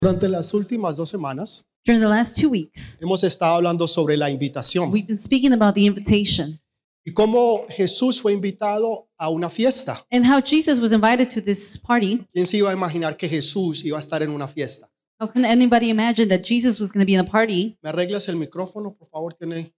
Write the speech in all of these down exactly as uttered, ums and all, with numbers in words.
Durante las últimas dos semanas During the last two weeks, hemos estado hablando sobre la invitación we've been speaking about the invitation y cómo Jesús fue invitado a una fiesta. and how Jesus was invited to this party. ¿Quién se iba a imaginar que Jesús iba a estar en una fiesta? How can anybody imagine that Jesus was going to be in a party? ¿Me arreglas el micrófono, por favor? Tiene.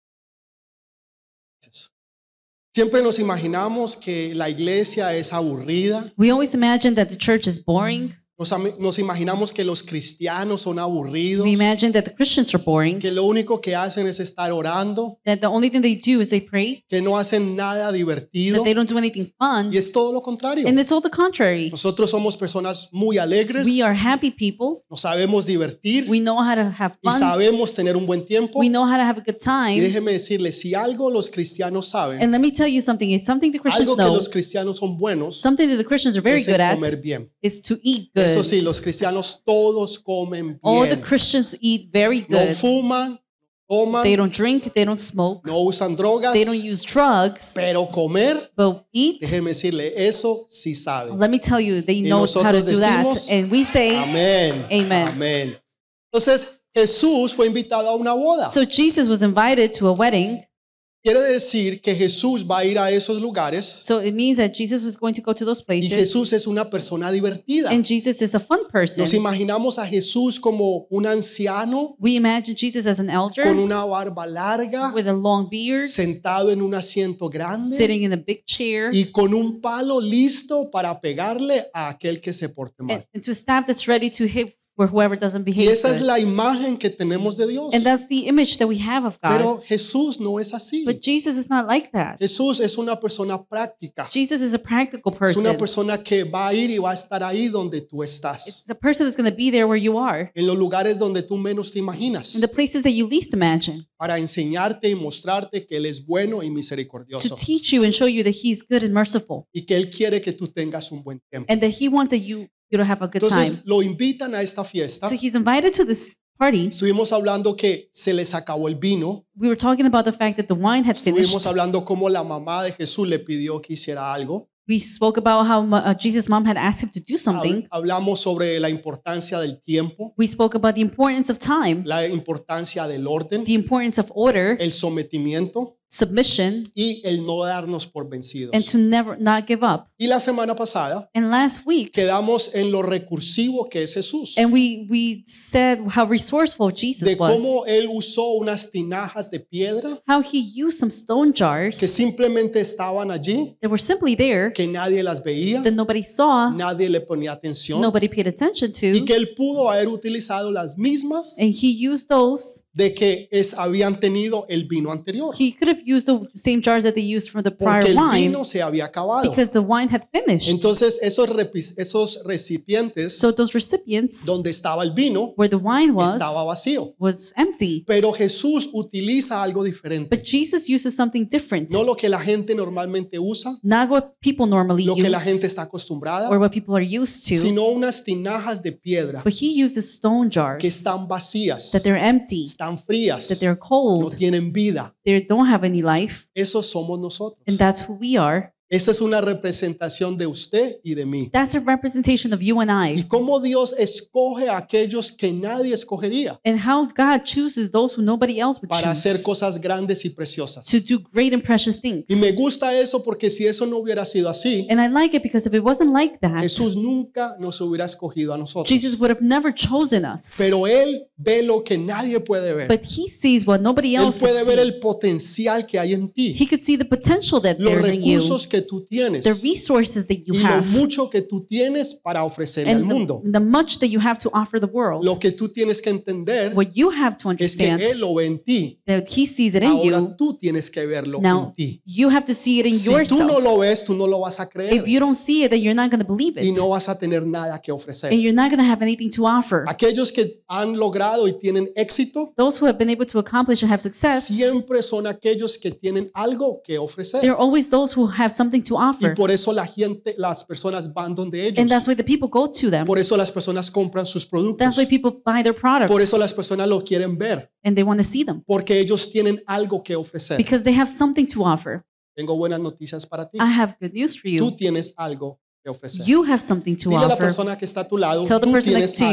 Siempre nos imaginamos que la iglesia es aburrida. We always imagine that the church is boring. Nos, am- nos imaginamos que los cristianos son aburridos, We imagine that the Christians are boring, que lo único que hacen es estar orando, that the only thing they do is they pray, que no hacen nada divertido. that they don't do anything fun. Y es todo lo contrario. And it's all the contrary. Nosotros somos personas muy alegres, We are happy people. nos sabemos divertir We know how to have y fun. sabemos tener un buen tiempo. We know how to have a good Y time. déjeme decirle, si algo los cristianos saben, And let me tell you something. It's something the Christians algo que know. los cristianos son buenos, Something that the Christians are very es el good at comer bien. is to eat Eso good. sí, los cristianos todos comen All the bien. Christians eat very No good. fuman, toman, They don't drink, they don't smoke, no usan drogas, they don't use drugs, pero comer, but eat. déjeme decirle, eso sí saben. Let me tell you, they know how to nosotros do that. decimos, And we say, Amén. Amen. Amén. Entonces, Jesús fue invitado a una boda. so Jesus was invited to a wedding. Quiere decir que Jesús va a ir a esos lugares So it means that Jesus was going to go to those y places. Jesús es una persona divertida. And Jesus is a fun person. Nos imaginamos a Jesús como un anciano We imagine Jesus as an elder con una barba larga, with a long beard, sentado en un asiento grande sitting in a big chair, y con un palo listo para pegarle a aquel que se porte and, mal. and to a staff that's ready to hit for whoever doesn't Y behave esa es good. la imagen que tenemos de Dios. And that's the image that we have of God. Pero Jesús no es así. But Jesus is not like that. Jesús es una persona práctica. Jesus is a practical Es person. una persona que va a ir y va a estar ahí donde tú estás. It's a person that's going to be there where you are, En los lugares donde tú menos te imaginas. in the places that you least imagine, Para enseñarte y mostrarte que Él es bueno y to misericordioso. teach you and show you that He's good and merciful, Y que Él quiere que tú tengas un buen tiempo. and that He wants that you, you to have a good time. Entonces lo invitan a esta fiesta. So He's invited to this party. Estuvimos hablando que se les acabó el vino. We were talking about the fact that the wine had finished. Estuvimos hablando cómo la mamá de Jesús le pidió que hiciera algo. We spoke about how uh, Jesus' mom had asked him to do something. Hab- Hablamos sobre la importancia del tiempo, We spoke about the importance of time, la importancia del orden, the importance of order, el sometimiento submission, y el no darnos por vencidos. and to never not give up. Y la semana pasada And last week, quedamos en lo recursivo que es Jesús, and we we said how resourceful Jesus de was, cómo Él usó unas tinajas de piedra how he used some stone que jars simplemente estaban allí, that were simply there que nadie las veía, that nobody saw, nadie le ponía atención, nobody paid attention y to, que Él pudo haber utilizado las mismas and he used those. de que es, habían tenido el vino anterior, He could have used the same jars that they used for the prior porque el wine vino se había acabado. because the wine had finished. Entonces esos, repi- esos recipientes So those recipients donde estaba el vino where the wine was estaba vacío. was empty. Pero Jesús utiliza algo diferente. But Jesus uses something different, No lo que la gente normalmente usa, not what people normally lo que la gente use está acostumbrada, or what people are used to, sino unas tinajas de piedra but he uses stone que jars están vacías, that they're empty, están frías, that they're no cold, tienen vida. they don't have any life, Esos somos nosotros. and that's who we are. Esa es una representación de usted y de mí. That's a representation of you and Y I, cómo Dios escoge a aquellos que nadie escogería and how God chooses those who nobody else would para hacer choose cosas grandes y preciosas. to do great and precious things. Y me gusta eso porque si eso no hubiera sido así, And I like it because if it wasn't like that, Jesús nunca nos hubiera escogido a nosotros. Jesus would have never chosen us. Pero Él ve lo que nadie puede ver. But he sees what nobody Él else can puede ver see. el potencial que hay en ti, He could see the potential that los there's in you, recursos que tú tienes the resources that you y lo have, mucho que tú tienes para ofrecerle al and mundo. the, the much that you have to offer the world. Lo que tú tienes que entender What you have to es que understand Él lo ve en ti. that he sees it in Ahora you. tú tienes que verlo en Now ti. you have to see it in Si tú no yourself. lo ves, tú no lo vas a If creer you don't see it, then you're not going to believe y it, no vas a tener nada que ofrecer. and you're not going to have anything to offer. Aquellos que han logrado y tienen éxito Those who have been able to accomplish and have success, siempre son aquellos que tienen algo que ofrecer. they're always those who have something to Y offer, por eso la gente, las personas van donde and ellos. that's why the people go to them. Por eso las personas compran sus productos. That's why people buy their products, Por eso las personas lo quieren ver. and they want to see them Porque ellos tienen algo que ofrecer. because they have something to offer. Tengo buenas noticias para ti. I have good news for Tú you. tienes algo que ofrecer. You have something to Dile a la offer. persona que está a tu lado, Tell the tú person tienes next to you, algo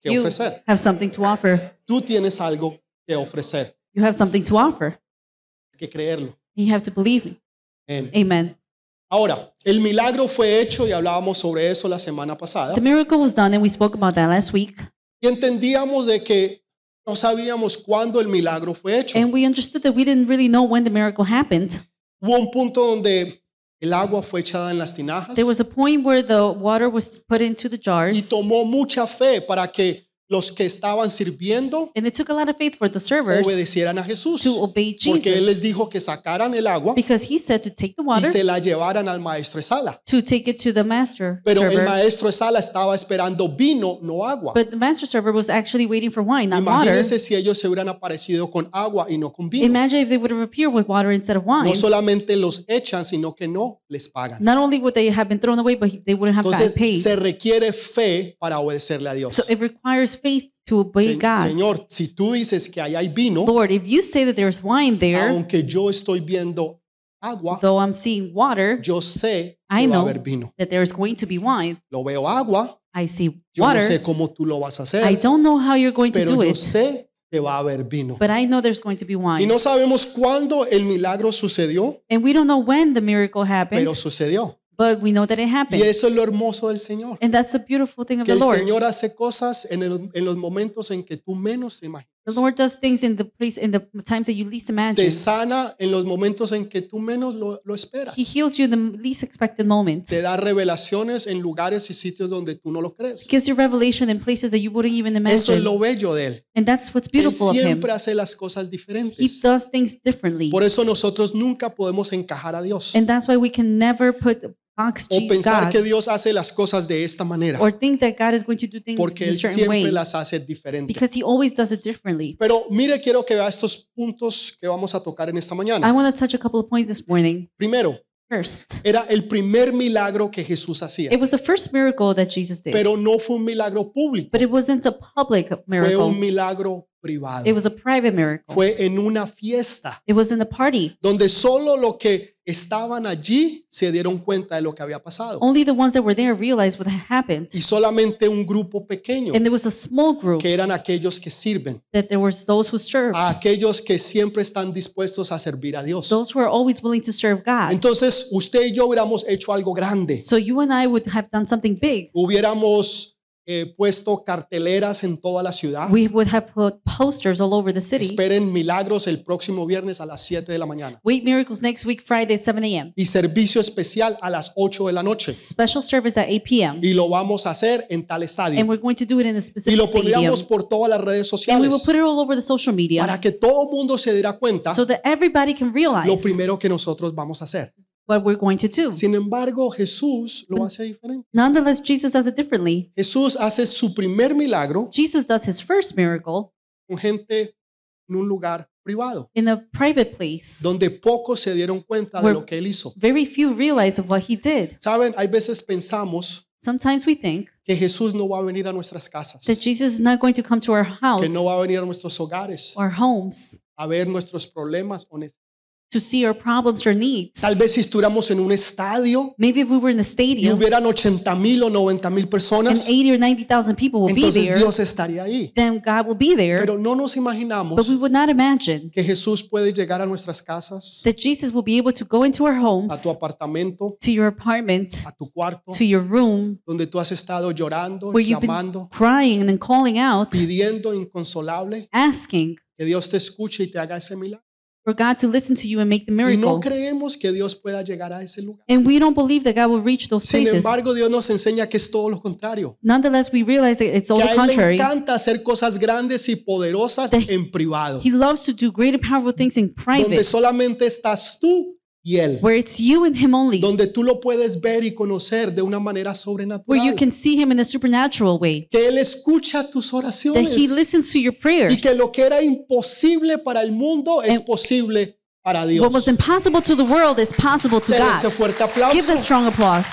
que You ofrecer. have something to offer. Tú tienes algo que ofrecer. You have something to offer. Hay que creerlo. You have to believe me. Amén. Amen. Ahora, el milagro fue hecho y hablábamos sobre eso la semana pasada. The miracle was done, and we spoke about that last week. Y entendíamos de que no sabíamos cuándo el milagro fue hecho. And we understood that we didn't really know when the miracle happened. Hubo un punto donde el agua fue echada en las tinajas There was a point where the water was put into the y jars, tomó mucha fe para que los que estaban sirviendo and it took a lot of faith for the servers obedecieran a Jesús. to obey Porque Él les Jesus, dijo que sacaran el agua because he said to take the y water, se la llevaran al maestro de sala. to take it to the master Pero el server. maestro de sala estaba esperando vino, no agua. But the master server was actually waiting for wine, not water. Imagínense si ellos se hubieran aparecido con agua y no con vino. Imagine if they would have appeared with water instead of wine. No solamente los echan, sino que no les pagan. Not only would they have been thrown away, but they wouldn't have gotten Entonces paid. se requiere fe para obedecerle a Dios. So it requires faith to obey Se- God. Señor, si tú dices que ahí hay vino, Lord, if you say that there's wine there, aunque yo estoy viendo agua, though I'm seeing water, yo sé I que va a know haber vino. that there's going to be wine. Lo veo agua, I see yo no water. sé cómo tú lo vas a I hacer, don't know how you're going to pero do yo it, sé que va a haber vino. but I know there's going to be Y wine. no sabemos cuándo el milagro sucedió, And we don't know when the miracle happened, pero sucedió. but we know that it Y happened. eso es lo hermoso del Señor. And that's the beautiful thing of Que the el Lord. Señor hace cosas en, el- en los momentos en que tú menos te imaginas. The Lord does things in the place, in the times that you least imagine. Te sana en los momentos en que tú menos lo, lo esperas. He heals you in the least expected moment. Te da revelaciones en lugares y sitios donde tú no lo crees. He gives you revelation in places that you wouldn't even Eso es imagine. lo bello de Él. And that's what's Él beautiful of Him. siempre hace las cosas He diferentes. does things differently. Por eso nosotros nunca podemos encajar a Dios And that's why we can never put box o pensar que God Dios hace las cosas de esta manera, or think that God is going to do things porque in a Él certain siempre way, las hace diferentes. because He always does it differently. Pero mire, quiero que vea estos puntos que vamos a tocar en esta I mañana. want to touch a couple of points this morning. Primero, First, era el primer milagro que Jesús hacía, it was the first miracle that Jesus did, pero no fue un milagro público, but it wasn't a public fue miracle. un milagro privado. It was a private miracle. Fue en una fiesta It was in the party. donde solo los que estaban allí se dieron cuenta de lo que había pasado. Only the ones that were there realized what had happened. Y solamente un grupo pequeño, And there was a small group que eran aquellos que sirven, that there was those who served, a aquellos que siempre están dispuestos a servir a Dios. those who are always willing to serve God. Entonces, usted y yo hubiéramos hecho algo grande. So you and I would have done something big. Hubiéramos eh, puesto carteleras en toda la ciudad. We would have put posters all over the city. Esperen milagros el próximo viernes a las siete de la mañana. Wait miracles next week, Friday, seven a.m. Y servicio especial a las ocho de la noche. Special service at eight p.m. Y lo vamos a hacer en tal And estadio. we're going to do it in a Y specific lo stadium. pondríamos por todas las redes And we sociales will put it all over the social media para que todo el mundo se diera cuenta so that everybody can realize lo primero que nosotros vamos a hacer. what we're going to do. Sin embargo, Jesús lo hace diferente. Nonetheless, Jesus does it differently. Jesús hace su primer milagro Jesus does his first miracle con gente en un lugar privado, in a private place. donde pocos se dieron cuenta de Where- lo que él hizo. Very few realize of what he did. Saben, hay veces pensamos Sometimes we think que Jesús no va a venir a nuestras casas, that Jesus is not going to come to our house que no va a venir a nuestros hogares or homes a ver nuestros problemas o necesidades. to see our problems or needs. Tal vez si estuviéramos en un estadio Maybe if we were in a y stadium hubieran ochenta mil o noventa mil and personas, eighty or ninety thousand people will be entonces there, Dios estaría ahí. then God will be there. Pero no nos But imaginamos we would not imagine que Jesús puede llegar a nuestras casas, that Jesus will be able to go into our a homes, tu apartamento, to your apartment, a tu cuarto, to your room, donde tú has estado llorando, where y you've been clamando, crying and calling out, pidiendo inconsolable, asking que Dios te escuche y te haga ese milagro. for God to listen to you and make the Y no miracle. creemos que Dios pueda llegar a ese lugar. And we don't believe that God will reach those Sin places. embargo, Dios nos enseña que es todo lo contrario. Nonetheless, we realize that it's all Que the a Él le contrary. encanta hacer cosas grandes y poderosas That en privado, He loves to do great and powerful things in donde private, solamente estás tú y Él, where it's you and Him only, donde tú lo puedes ver y conocer de una manera where you sobrenatural, can see Him in a supernatural way, que Él escucha tus that He oraciones listens to your y prayers. que lo que era imposible para el mundo es And posible para What Dios. was impossible to the world is possible to Dele ese God. fuerte Give them aplauso. strong applause.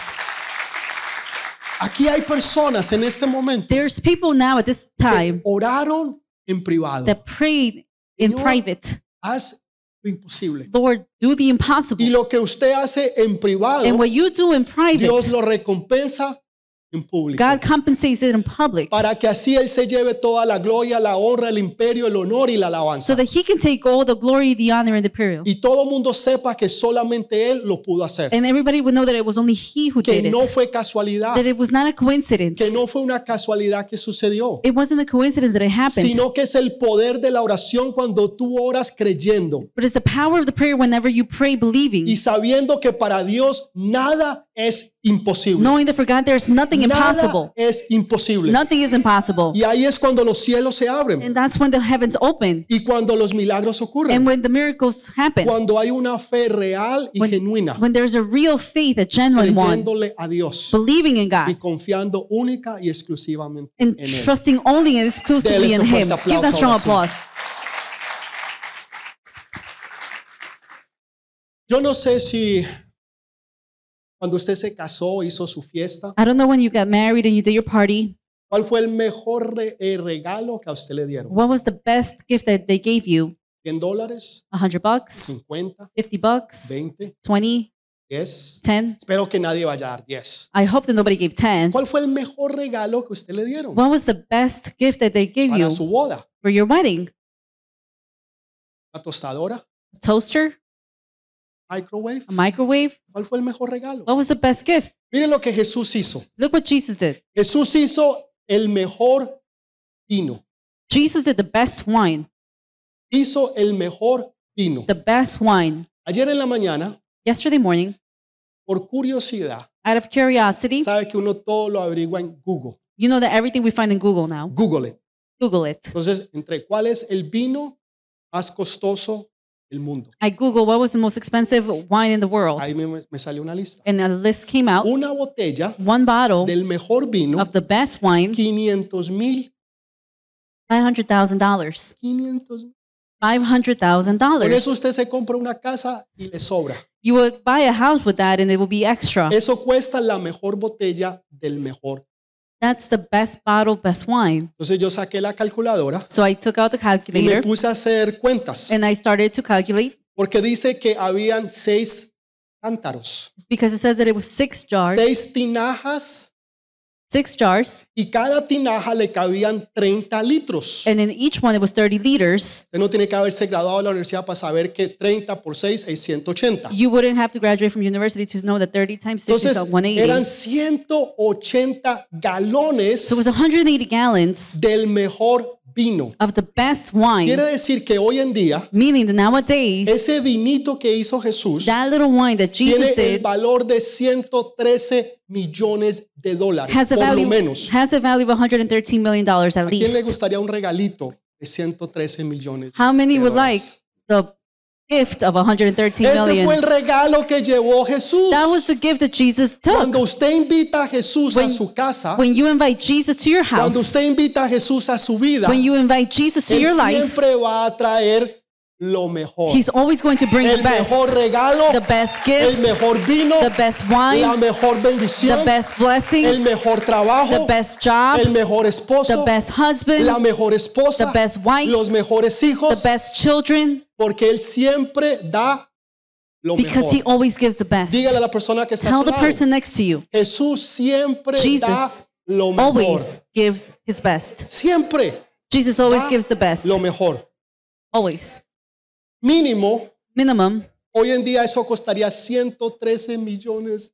Aquí hay personas en este momento There's people now at this que time oraron en privado. that prayed in Señor, private. Haz lo imposible. Lord, do the Y impossible. lo que usted hace en privado, And what you do in Dios private, lo recompensa en público. God compensates it in public Para que así Él se lleve toda la gloria, la honra, el imperio, el honor y la so alabanza. that he can take all the glory, the honor, and the period. Y todo el mundo sepa que solamente Él lo pudo hacer. And everybody would know that it was only he who Que did no it. fue casualidad. That it was not a coincidence. Que no fue una casualidad que sucedió. It wasn't a coincidence that it happened. Sino que es el poder de la oración cuando tú oras creyendo. But it's the power of the prayer whenever you pray believing. Y sabiendo que para Dios nada es imposible. Knowing that for God there's nothing Nada impossible. es imposible. Nothing is impossible. Y ahí es cuando los cielos se abren. And that's when the heavens open Y cuando los milagros ocurren. and when the miracles happen. Cuando hay una fe real y When, genuina. when there's a real faith, a genuine one, Creyéndole a Dios. believing in Y God confiando única y exclusivamente and en Él. trusting only and exclusively Dele in ese Him. fuerte Give that aplauso strong ahora sí. applause. Yo no sé si cuando usted se casó, hizo su fiesta, I don't know when you got married and you did your party, ¿cuál fue el mejor re- eh, regalo que a usted le dieron? what was the best gift that they gave you? ¿cien dólares? A hundred bucks, ¿cincuenta? fifty bucks, ¿veinte? twenty, ¿diez? ten. Espero que nadie vaya a dar diez. I hope that nobody gave ten. ¿Cuál fue el mejor regalo que usted le dieron What was the best gift that they gave you para su boda? for your wedding? ¿Una tostadora? A toaster? ¿Microwave? A microwave? ¿Cuál fue el mejor regalo? What was the best gift? Miren lo que Jesús hizo. Look what Jesus did. Jesús hizo el mejor vino. Jesus did the best wine. Hizo el mejor vino. The best wine. Ayer en la mañana, Yesterday morning, por curiosidad, out of curiosity, sabe que uno todo lo averigua en Google. you know that everything we find in Google now. Google it. Google it. Entonces, entre cuál es el vino más costoso del mundo. I Google what was the most expensive wine in the world. Ahí me, me salió una lista. And a list came out. Una botella One bottle del mejor vino, of the best wine, quinientos mil. five hundred thousand dollars. quinientos mil. five hundred thousand Con eso dollars. usted se compra una casa y le sobra. You would buy a house with that and it will be extra. Eso cuesta la mejor botella del mejor. That's the best bottle, best wine. Entonces yo saqué la calculadora So I took out the y me calculator puse a hacer cuentas. and I started to calculate Porque dice que habían seis cántaros, because it says that it was six jars, seis tinajas six jars, y cada tinaja le cabían treinta litros. and in each one it was thirty liters. Usted no tiene que haberse graduado de la universidad para saber que treinta por seis es ciento ochenta. You wouldn't have to graduate from university to know that thirty times six Entonces is one eighty. eran ciento ochenta galones So it was one hundred eighty gallons del mejor vino. of the best wine, Quiere decir que hoy en día meaning that nowadays, ese vinito que hizo Jesús that little wine that tiene Jesus el did valor de ciento trece millones de dólares, has a por lo value, menos. has a value of one hundred thirteen million dollars at ¿A quién le least. gustaría un regalito de ciento trece millones? How many de would like dólares? the gift of one hundred thirteen Ese fue el million? regalo que llevó Jesús. That was the gift that Jesus took. Cuando usted invita a Jesús a When- su casa, When you invite Jesus to your cuando house, usted invita a Jesús a su vida, when you invite Jesus to Él your life, siempre va a traer lo mejor. He's always going to bring the El mejor best, regalo, the best el gift, mejor vino, the best la wine, mejor the bendición, best blessing, el mejor trabajo, the best job, el mejor esposo, the best husband, la mejor esposa, the best wife, los mejores the hijos, best children, porque Él siempre da lo because He mejor. always gives the best. Dígale a la persona que está a Tell su the lado, person next to you, Jesús siempre Jesus da lo mejor. always gives His best. Siempre Jesus always da gives the best. lo mejor. Always. Mínimo, Minimum, hoy en día eso costaría ciento trece millones.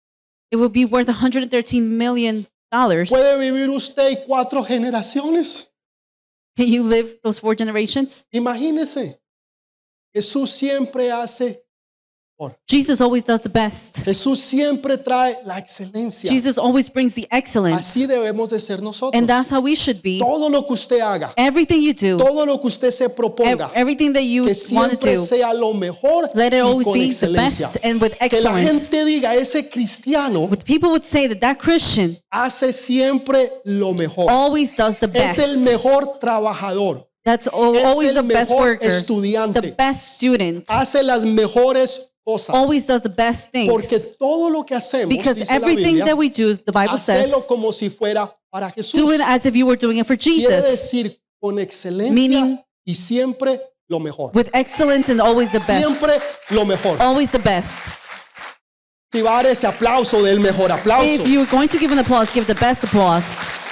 it would be worth one hundred thirteen million dollars. ¿Puede vivir usted y cuatro generaciones? Can you live those four generations? Imagínese. Jesús siempre hace, Jesus always does the best. Jesús siempre trae la excelencia. Jesus always brings the excellence. Así debemos de ser nosotros. And that's how we should be. Todo lo que usted haga, Everything you do, todo lo que usted se ev- proponga, everything that you que want to siempre do, sea lo mejor let it y always con be the excelencia. best and with Que la excellence. gente diga, ese cristiano With people would say that that Christian hace siempre lo mejor. always does the Es el best. mejor trabajador. That's al- Es always el the best mejor worker, estudiante. the best student, Hace las mejores cosas. always does the best Porque things. todo lo que hacemos, Because dice la everything Biblia, that we do, the Bible says, hacelo como si fuera para Jesús. do it as if you were doing it for Quiere Jesus. decir con excelencia Meaning- y siempre lo mejor. With excellence and always the best. Siempre lo mejor. Always the best. Si va a dar ese aplauso, del mejor aplauso. If you're going to give an applause, give the best applause.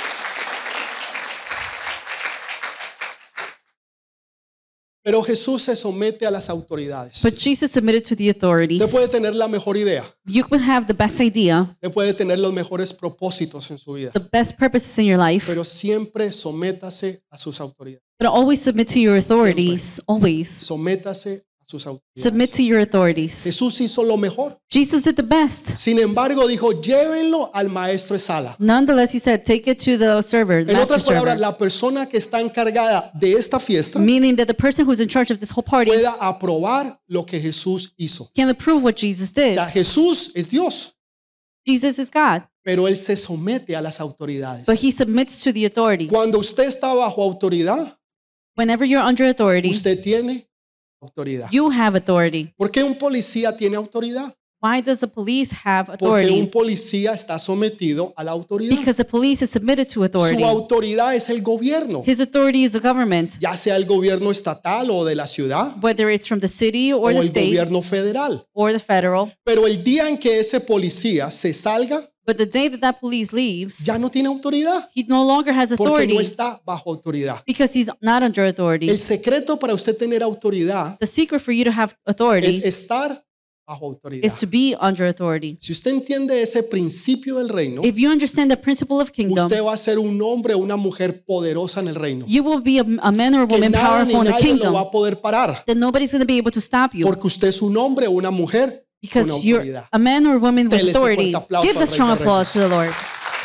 Pero Jesús se somete a las autoridades. But Jesus submitted to the authorities. Usted puede tener la mejor idea. You could have the best idea, Usted puede tener los mejores propósitos en su vida. the best purposes in your life, Pero siempre sométase a sus autoridades. but always submit to your authorities. Always Sométase a sus submit autoridades. to your authorities. Jesús hizo lo mejor. Jesus did the best. Sin embargo, dijo, llévenlo al maestro de sala. Nonetheless, he said, take it to the server, the En master otras palabras, server. la persona que está encargada de esta fiesta Meaning that the person who's in charge of this whole party pueda aprobar lo que Jesús hizo. can approve what Jesus O did. sea, Jesús es Dios, Jesus is God, pero Él se somete a las autoridades. but he submits to the authorities. Cuando usted está bajo autoridad, Whenever you're under authority, usted tiene autoridad. you have authority. ¿Por qué un policía tiene autoridad? Why does the police have Porque un authority? policía está sometido a la autoridad. Because the police is submitted to Su authority. autoridad es el gobierno, His authority is the government, ya sea el gobierno estatal o de la ciudad whether it's from the city o or the el state gobierno federal. or the federal. Pero el día en que ese policía se salga, But the day that that police leaves, ya no tiene autoridad he no longer has porque authority no está bajo autoridad. because he's not under authority. El secreto para usted tener autoridad The secret for you to have es authority estar bajo autoridad. is to be under authority. Si usted entiende ese principio del reino, If you understand the principle of kingdom, usted va a ser un hombre o una mujer poderosa en el reino. you will be a, a man or a Que woman nada ni powerful in the nadie lo va kingdom. a poder parar That nobody's going to be able to stop you porque usted es un hombre o una mujer con because you're autoridad. a man or a woman with Dele ese authority. fuerte aplauso Give al the Rey strong de applause to Reyes. the Lord.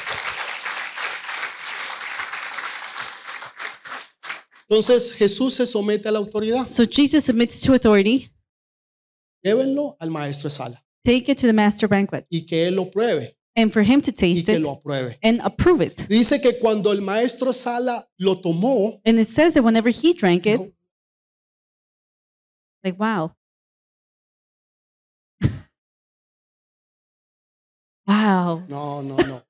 Entonces Jesús se somete a la autoridad. So Jesus submits to authority. Llévenlo al maestro de sala Take it to the master banquet, y que él lo pruebe and for him to y taste que it lo apruebe. and approve it. Dice que cuando el maestro de sala lo tomó, And it says that whenever he drank it, dijo, like wow, wow, no, no, no.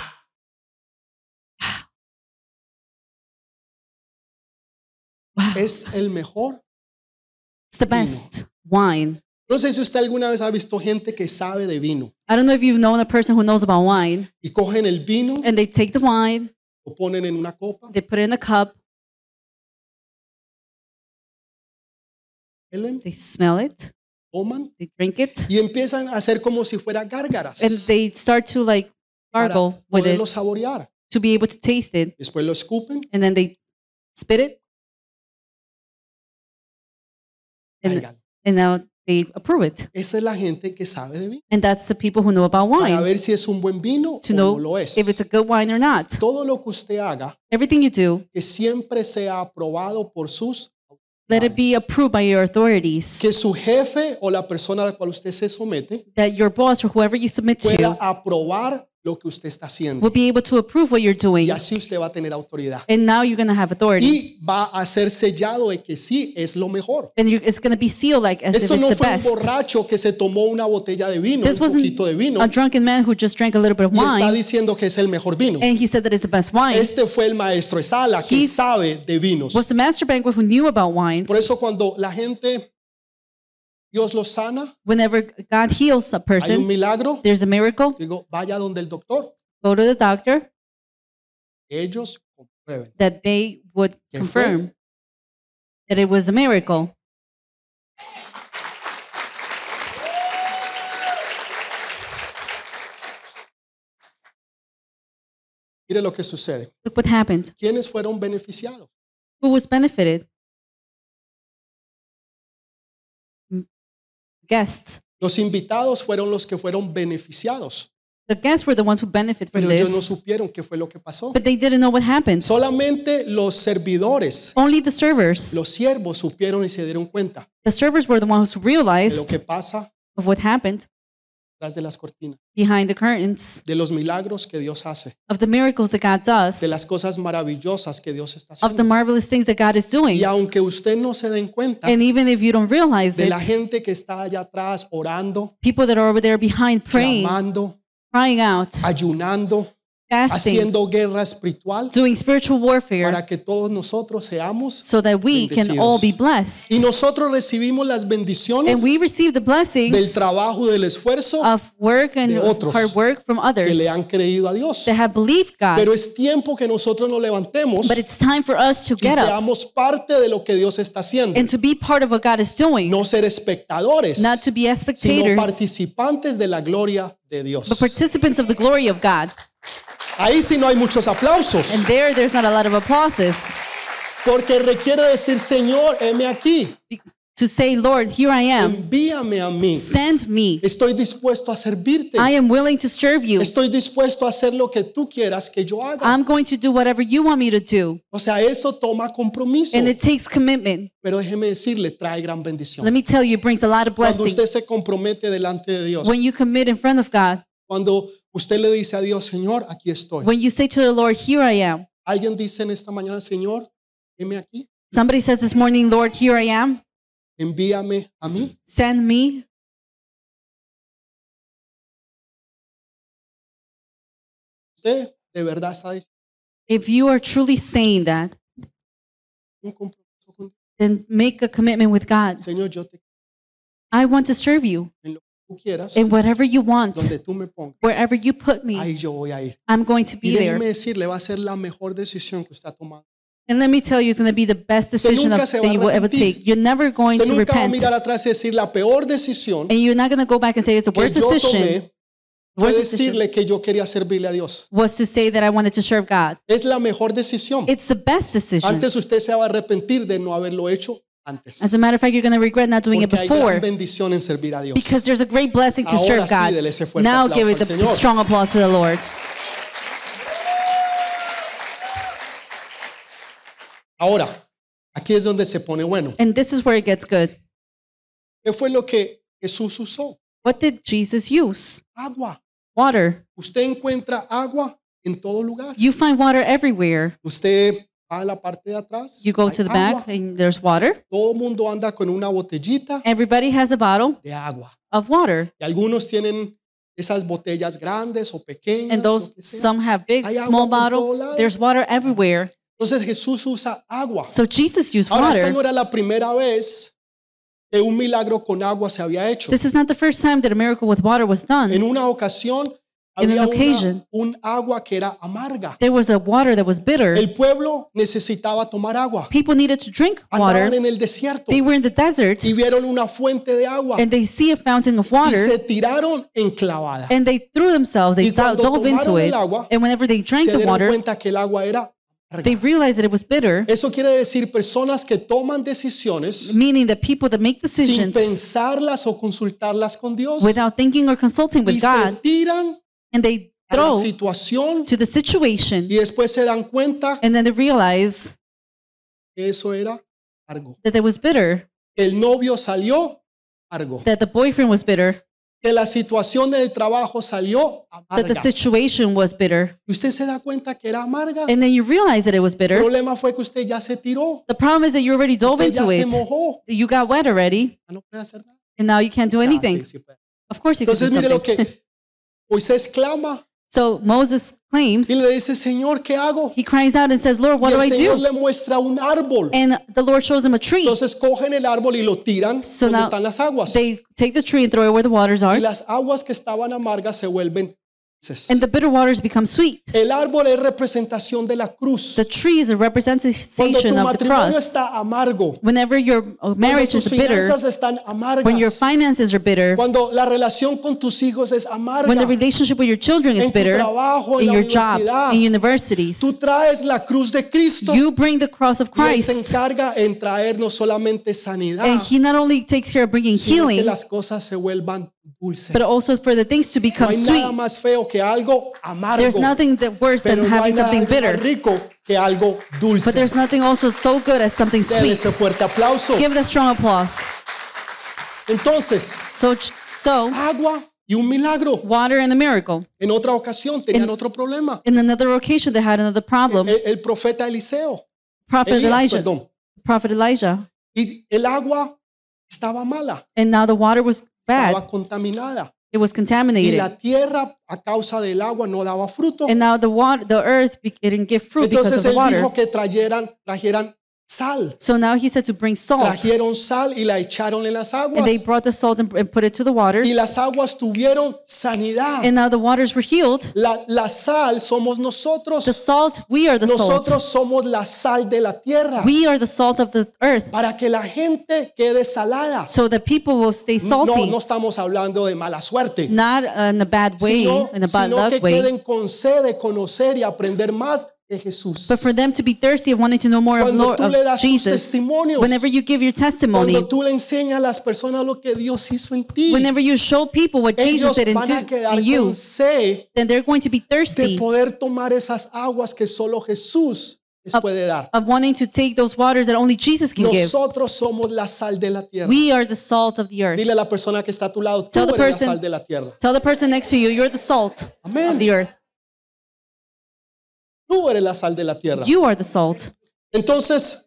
wow, Es el mejor. it's the best wine. No sé si usted alguna vez ha visto gente que sabe de vino I don't know if you've known a person who knows about wine, y cogen el vino, and they take the wine, lo ponen en una copa, they put it in a cup, huelen, they smell it, toman they drink it, y empiezan a hacer como si fuera gárgaras and they start to like para gargle with poderlo it saborear. to be able to taste it, Después lo escupen, and then they spit it, and, caigan. and now they approve it. Esa es la gente que sabe de vino. And that's the people who know about Para wine, ver si es un buen vino to o know no lo es. if it's a good wine or not. Todo lo que usted haga, Everything you do, que siempre sea aprobado por sus let it be approved by your authorities. que su jefe o la persona a la cual usted se somete That your boss or whoever you submit pueda to aprobar lo que usted está haciendo. will be able to approve what you're doing. Y así usted va a tener autoridad. And now you're going to have authority. Y va a ser sellado de que sí es lo mejor. And you're, it's going to be sealed like as Esto if no it's the fue un best. borracho que se tomó una botella de vino, This un wasn't poquito de vino, a drunken man who just drank a little bit of y está wine diciendo que es el mejor vino. and he said that it's the best wine. Este fue el maestro de sala que He sabe de vinos. Was the master banquet who knew about wines. Por eso cuando la gente, Dios los sana, Whenever God heals a hay un person, milagro, there's a miracle. digo, vaya donde el doctor, Go to the doctor ellos comprueben. that they would ¿Qué confirm that it was a miracle. Mire lo que sucede. Look what happened. ¿Quiénes fueron beneficiados? Who was benefited? Guests. Los invitados fueron los que fueron beneficiados, The guests were the ones who benefited from pero ellos no this, supieron qué fue lo que pasó. but they didn't know what happened. Solamente los servidores, Only the servers. los siervos supieron y se dieron cuenta The servers were the ones who de lo realized que pasa of what happened tras de las cortinas, behind the curtains, de los milagros que Dios hace, of the miracles that God does, de las cosas maravillosas que Dios está of the haciendo. marvelous things that God is doing. Y aunque usted no se den cuenta And even if you don't realize de la it, gente que está allá atrás orando, people that are over there behind praying, clamando, crying out, ayunando, fasting, haciendo guerra espiritual doing spiritual warfare para que todos nosotros seamos. so that we can all be blessed. Y nosotros recibimos las bendiciones And we receive the del blessings trabajo, del esfuerzo of work and de otros hard work from que others le han creído a Dios. that have believed God. Pero es tiempo que nosotros nos levantemos But it's time for us to y get up seamos parte de lo que Dios está haciendo. and to be part of what God is doing, No ser espectadores, not to be as sino spectators, participantes de la gloria de Dios. but participants of the glory of God. Ahí sí no hay muchos aplausos, And there, there's not a lot of applauses. porque requiere decir, Señor, heme aquí, To say, Lord, here I am. envíame a mí. Send me. Estoy dispuesto a servirte. I am willing to serve you. Estoy dispuesto a hacer lo que tú quieras que yo haga. I'm going to do whatever you want me to do. O sea, eso toma compromiso. And it takes commitment. Pero déjeme decirle, trae gran bendición. Let me tell you, it brings a lot of Cuando blessing. usted se compromete delante de Dios, When you commit in front of God, cuando usted le dice a Dios, Señor, aquí estoy. when you say to the Lord, here I am. Alguien dice en esta mañana, Señor, heme aquí, Somebody says this morning, Lord, here I am. envíame a mí. Send me. Usted de verdad está diciendo If you are truly saying that, un compromiso con Dios. then make a commitment with God. Señor, yo te I want to serve you en lo que tú quieras, in whatever you want, donde tú me pongas, wherever you put me. ahí yo voy a ir. I'm going to Y be there. déjeme decirle, va a ser la mejor decisión que usted ha tomado. And let me tell you, it's going to be the best decision of, nunca se va that a you will ever arrepentir. take. You're never going Usted to nunca va a repent. mirar atrás y decir la peor decisión And you're not going to go back and say it's the que worst yo decision. tomé fue Worst decision decirle que yo quería servirle a Dios. was to say that I wanted to serve God. Es la mejor decisión. It's the best decision. Antes usted se va a arrepentir de no haberlo hecho antes. As a matter of fact, you're going to regret not doing it Porque hay before gran bendición en servir a Dios. because there's a great blessing to Ahora serve sí, God. dele ese fuerte Now aplauso give it al the Señor. strong applause to the Lord. Ahora, aquí es donde se pone bueno. And this is where it gets good. ¿Qué fue lo que Jesús usó? What did Jesus use? Agua. Water. Usted encuentra agua en todo lugar. You find water everywhere. Usted va a la parte de atrás. You go hay to the agua. back and there's water. Todo el mundo anda con una botellita Everybody has a bottle de agua. of water. Y algunos tienen esas botellas grandes o pequeñas. And those, lo que sea. some have big, Hay agua small por todo bottles. lado. There's water everywhere. Entonces Jesús usa agua. So Jesus used Ahora, esta water. no era la primera vez que un milagro con agua se había hecho. This is not the first time that a miracle with water was En done. una ocasión In había an una- occasion. un agua que era amarga. There was a water that was bitter. El pueblo necesitaba tomar agua. People needed to drink Andaban water. en el desierto They were in the desert y vieron una fuente de agua and they see a fountain of y water se tiraron enclavada. and they threw themselves, they Y cuando dove into tomaron it. el agua, And whenever they drank Se the dieron water, cuenta que el agua era they amarga. realized that it was bitter, Eso quiere decir personas que toman decisiones meaning that people that make sin decisions pensarlas o consultarlas con Dios without thinking or consulting y with se God, tiran and they a la throw situación to the situation, y después se dan cuenta and then they realize que eso era amargo. that it was bitter, El novio salió amargo. that the boyfriend was bitter, Que la situación del trabajo salió that the amarga. situation was bitter. Y usted se da cuenta que era amarga. And then you realize that it was El bitter. problema fue que usted ya se tiró. The problem is that you already dove Usted ya into se it. mojó. You got wet already, Ya no puede hacer nada. and now you can't do Ya, anything. sí, sí puede. Of course you can do Entonces mire lo something. que Moisés clama So Moses claims, y le dice, Señor, ¿qué hago? he cries out and says, Lord, what y do el I Señor do? le muestra un árbol. And the Lord shows him a tree. Entonces cogen el árbol y lo tiran So donde now están las aguas. They take the tree and throw it where the waters Y are, las aguas que estaban amargas se vuelven dulces. and the bitter waters become sweet. El árbol es representación de la cruz. The tree is a Cuando tu representation of the matrimonio cross. está amargo, Whenever your uh, cuando marriage tus is bitter, finanzas están when your amargas, finances are bitter, cuando la relación con tus hijos es when amarga, the relationship with your children en is tu bitter, trabajo, en in la your job, universidad, in universities, tú traes la cruz de Cristo you bring the cross of y Él se Christ, encarga en traer no solamente sanidad, and He not only takes care of bringing sino que healing, las cosas se vuelvan dulces. but also for the things to No become hay sweet. nada más feo que algo amargo, There's nothing that worse pero than no hay having nada something más bitter, rico que algo dulce. but there's nothing also so good as something Dele sweet. ese fuerte aplauso. Give it a strong applause. Entonces, So, so agua y un milagro. water and the miracle. En otra ocasión tenían In- otro problema. In another occasion, they had another problem. El, el profeta Eliseo, Prophet Elías, Elijah, perdón. Prophet Elijah, Y el agua estaba mala, and now the water was bad. estaba contaminada. It was y contaminated. la tierra a causa del agua no daba fruto. And now the water, the earth, be- it didn't give fruit because of Entonces the él water. dijo que trajeran, trajeran sal. So now he said to bring salt. Trajeron sal y la echaron en las And they aguas. brought the salt and, and put it to the waters. Y las aguas tuvieron sanidad. And now the waters were healed. La, la sal somos nosotros. The salt, we are the Nosotros salt. somos la sal de la tierra. We are the salt of the earth. Para que la gente quede salada. So that people will stay No, salty. no estamos hablando de mala suerte. Not uh, in a bad way, Sino, in a bad sino que luck way. queden con sed de conocer y aprender más de Jesús. But for them to be thirsty of wanting to know more of, Cuando Lord, tú le of das tus Jesus. testimonios, Whenever you give your testimony, Cuando tú le enseñas a las personas lo que Dios hizo en ti, whenever you show people what Jesus ellos did in, van a to- quedar in you, con sed then they're going to be de thirsty poder tomar esas aguas que solo Jesús les puede dar. of wanting to take those waters that only Jesus can give. Nosotros somos la sal de la tierra. We are the salt of the earth. Dile a la persona que está a tu lado, tú Tell the eres la person- sal de la tierra. Tell the person next to you, you're the salt Amén. of the earth. Tú eres la sal de la tierra. You are the salt. Entonces,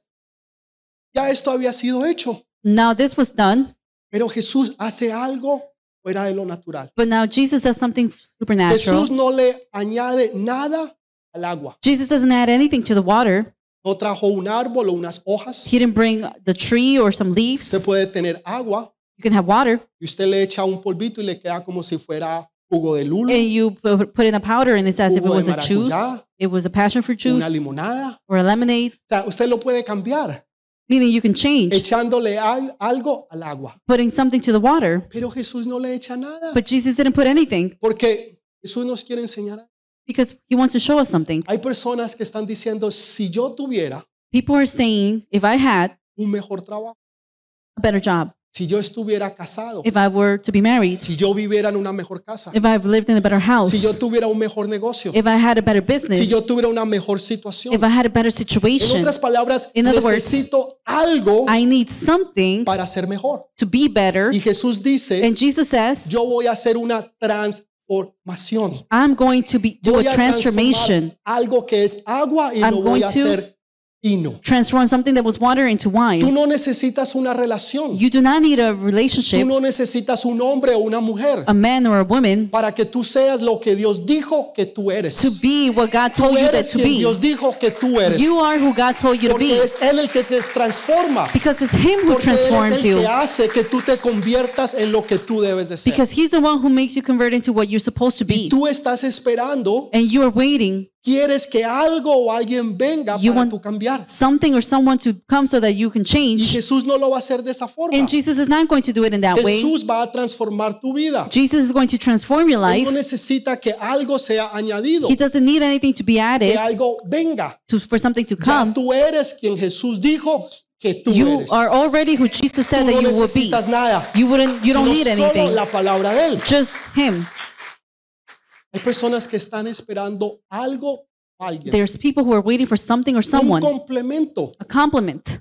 ya esto había sido hecho, Now this was done, pero Jesús hace algo fuera de lo natural. but now Jesus does something supernatural. Jesús no le añade nada al agua. Jesus doesn't add anything to the water. No trajo un árbol o unas hojas. He didn't bring the tree or some Usted leaves. puede tener agua You can have water, y usted le echa un polvito y le queda como si fuera jugo de lulo, and you pu- put in a powder, and it's as if it Jugo de was a juice. maracuyá, It was a passion fruit juice una limonada. or a lemonade, O sea, usted lo puede cambiar meaning you can change, echándole al- algo al agua. putting something to the water. Pero Jesús no le echa nada But Jesus didn't put anything porque Jesús nos quiere enseñar. because he wants to show us something. Hay personas que están diciendo, si yo tuviera People are saying, if I had un mejor trabajo, a better job, si yo estuviera casado, if I were to be married, si yo viviera en una mejor casa, if I lived in a better house, si yo tuviera un mejor negocio, if I had a better business, si yo tuviera una mejor situación. if I had a better En situation, otras palabras, In other words, necesito algo I need something para ser mejor. to be better. Y Jesús dice, And Jesus says, yo voy a hacer una transformación. I'm going to be do Voy a a transformation, transformar algo que es agua y I'm lo voy going a to- hacer vino. transform something that was water into Tú wine. no necesitas una relación. You do not need a Tú relationship, no necesitas un hombre o una mujer a man or a woman, para que tú seas lo que Dios dijo que tú to eres. be what God Tú told you that eres to quien be. Dios dijo que tú eres. You are who God told you to Porque be es Él el que te transforma. because it's Him who Porque Él es transforms el you. que hace que tú te conviertas en lo que tú debes de ser. Because He's the one who makes you convert into what you're supposed to Y be. tú estás esperando, And you are waiting quieres que algo o alguien venga You para want- tú cambiar. something or someone to come so that you can Y change. Jesús no lo va a hacer de esa forma. And Jesus is not going to do it in that way. Jesús va a transformar tu vida. Jesus is going to transform your Él life. no necesita que algo sea añadido, He doesn't need anything to be que added algo venga. to, for something to Ya come. tú eres quien Jesús dijo que tú You eres. are already who Jesus said Tú that no you will be. necesitas nada, You wouldn't. You don't sino need solo anything. la palabra de Él. Just Him. Hay personas que están esperando algo o alguien. There's people who are waiting for something or Un someone, complemento. a compliment.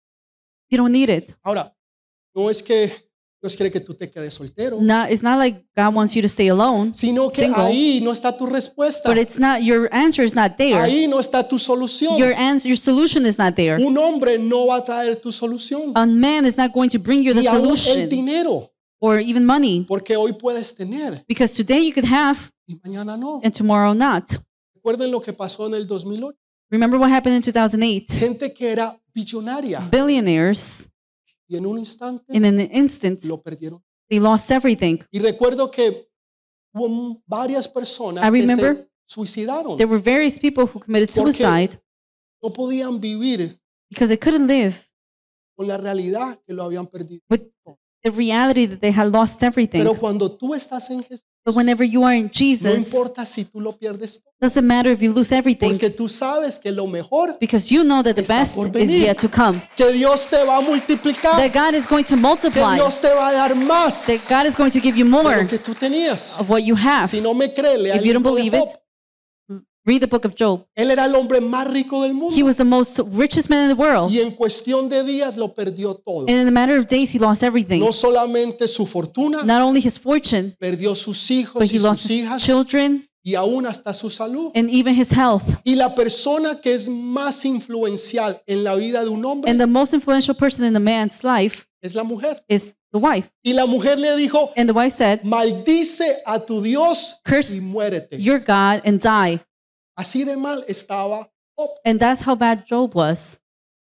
You don't need it. Ahora, no es que Dios quiere que tú te quedes soltero, Not, it's not like God wants you to stay alone, sino que single. ahí no está tu respuesta. but it's not. Your answer is not there. Ahí no está tu solución. Your answer, your solution is not there. Un hombre no va a traer tu solución. A man is not going to bring you the Ni aún el solution dinero, or even money, porque hoy puedes tener because today you could have y mañana no. and tomorrow not. Recuerden lo que pasó en el dos mil ocho. Remember what happened in two thousand eight? Gente que era billonaria Billionaires, y en un instante in an instant, lo perdieron. they lost everything. Y recuerdo que hubo varias personas I que remember se suicidaron. There were various people who committed Porque- suicide No podían vivir because they couldn't live con la realidad que lo habían perdido. with the reality that they had lost everything. Pero cuando tú estás en Jesús, But whenever you are in no Jesus, importa si tú lo pierdes todo, doesn't matter if you lose everything porque tú sabes que lo mejor, because you know that the está best por is venir. yet to come. que Dios te va a multiplicar, That God is going to que multiply. Dios te va a dar más That God is going to give you de more lo que tú tenías. of what you have. Si no me crees, lea If el you don't libro de believe Job. it, read the book of Job. Él era el hombre más rico del mundo He was the most richest man in the world. y en cuestión de días lo perdió todo. And in a matter of days, he lost everything. No solamente su fortuna, Not only his fortune, perdió sus but hijos he y lost sus his hijas children y aún hasta su salud. and even his health. Y la persona que es más influencial en la vida de un hombre And the most influential person in the man's life es la mujer. is the the wife. Y la mujer le dijo, And the wife said, maldice a tu Dios curse y muérete. your God and die. Así de mal estaba Job. And that's how bad Job was.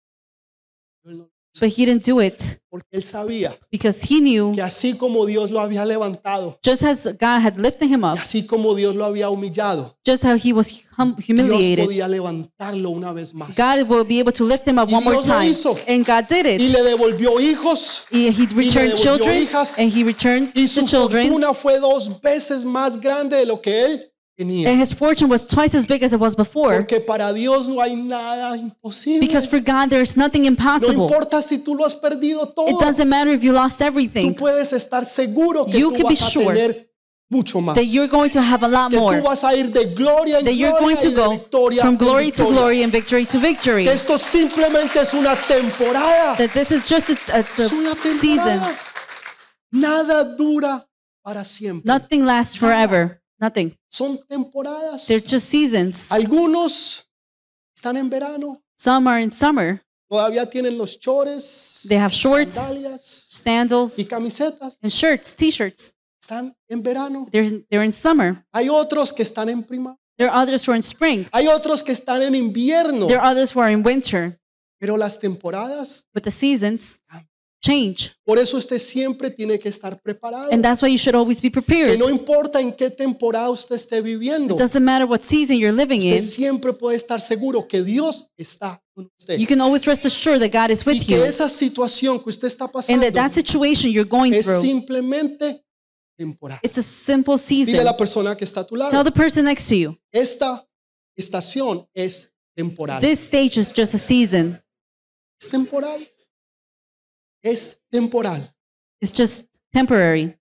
But he didn't do it Porque él sabía because he knew que así como Dios lo había levantado, just as God had lifted him y up, así como Dios lo había humillado, just how he was hum- Dios humiliated, podía levantarlo una vez más. God will be able to lift him up Y one more Dios lo time. hizo. And God did Y it. le devolvió hijos He, he returned devolvió children hijas. and he returned y su the children. fortuna fue dos veces más grande de lo que él tenía. And his fortune was twice as big as it was before. Porque para Dios no hay nada imposible. Because for God, there's nothing No impossible. importa si tú lo has perdido It todo. doesn't matter if you lost Tú everything, puedes estar seguro que You tú can be vas a sure tener mucho más. that you're going to have a lot Que more. tú vas a ir de gloria en That you're going gloria to y de go victoria from en glory to victoria. glory and victory to victory. Que esto simplemente es una temporada. That this is just a, it's Es una a season. temporada. Nada dura para siempre. Nothing lasts forever. Nothing. Son temporadas. They're just seasons. Algunos están en verano. Some are in summer. Todavía tienen los chores, They have shorts, sandalias sandals, y camisetas. and shirts, t-shirts. Están en verano. They're, they're in summer. Hay otros que están en primavera. There are others who are in spring. Hay otros que están en invierno. There are others who are in winter. Pero las temporadas, But the seasons change. por eso usted siempre tiene que estar preparado. And that's why you should always be Que prepared. no importa en qué temporada usted esté viviendo, It doesn't matter what season you're living usted in. siempre puede estar seguro que Dios está con usted. You can always rest assured that God is Y with que you. esa situación que usted está And pasando that that situation you're going es through, simplemente temporal. it's a simple Dile a season. la persona que está a tu Tell lado, the person next to you, esta estación es temporal. this stage is just a season. Es temporal. Es temporal. It's just temporary.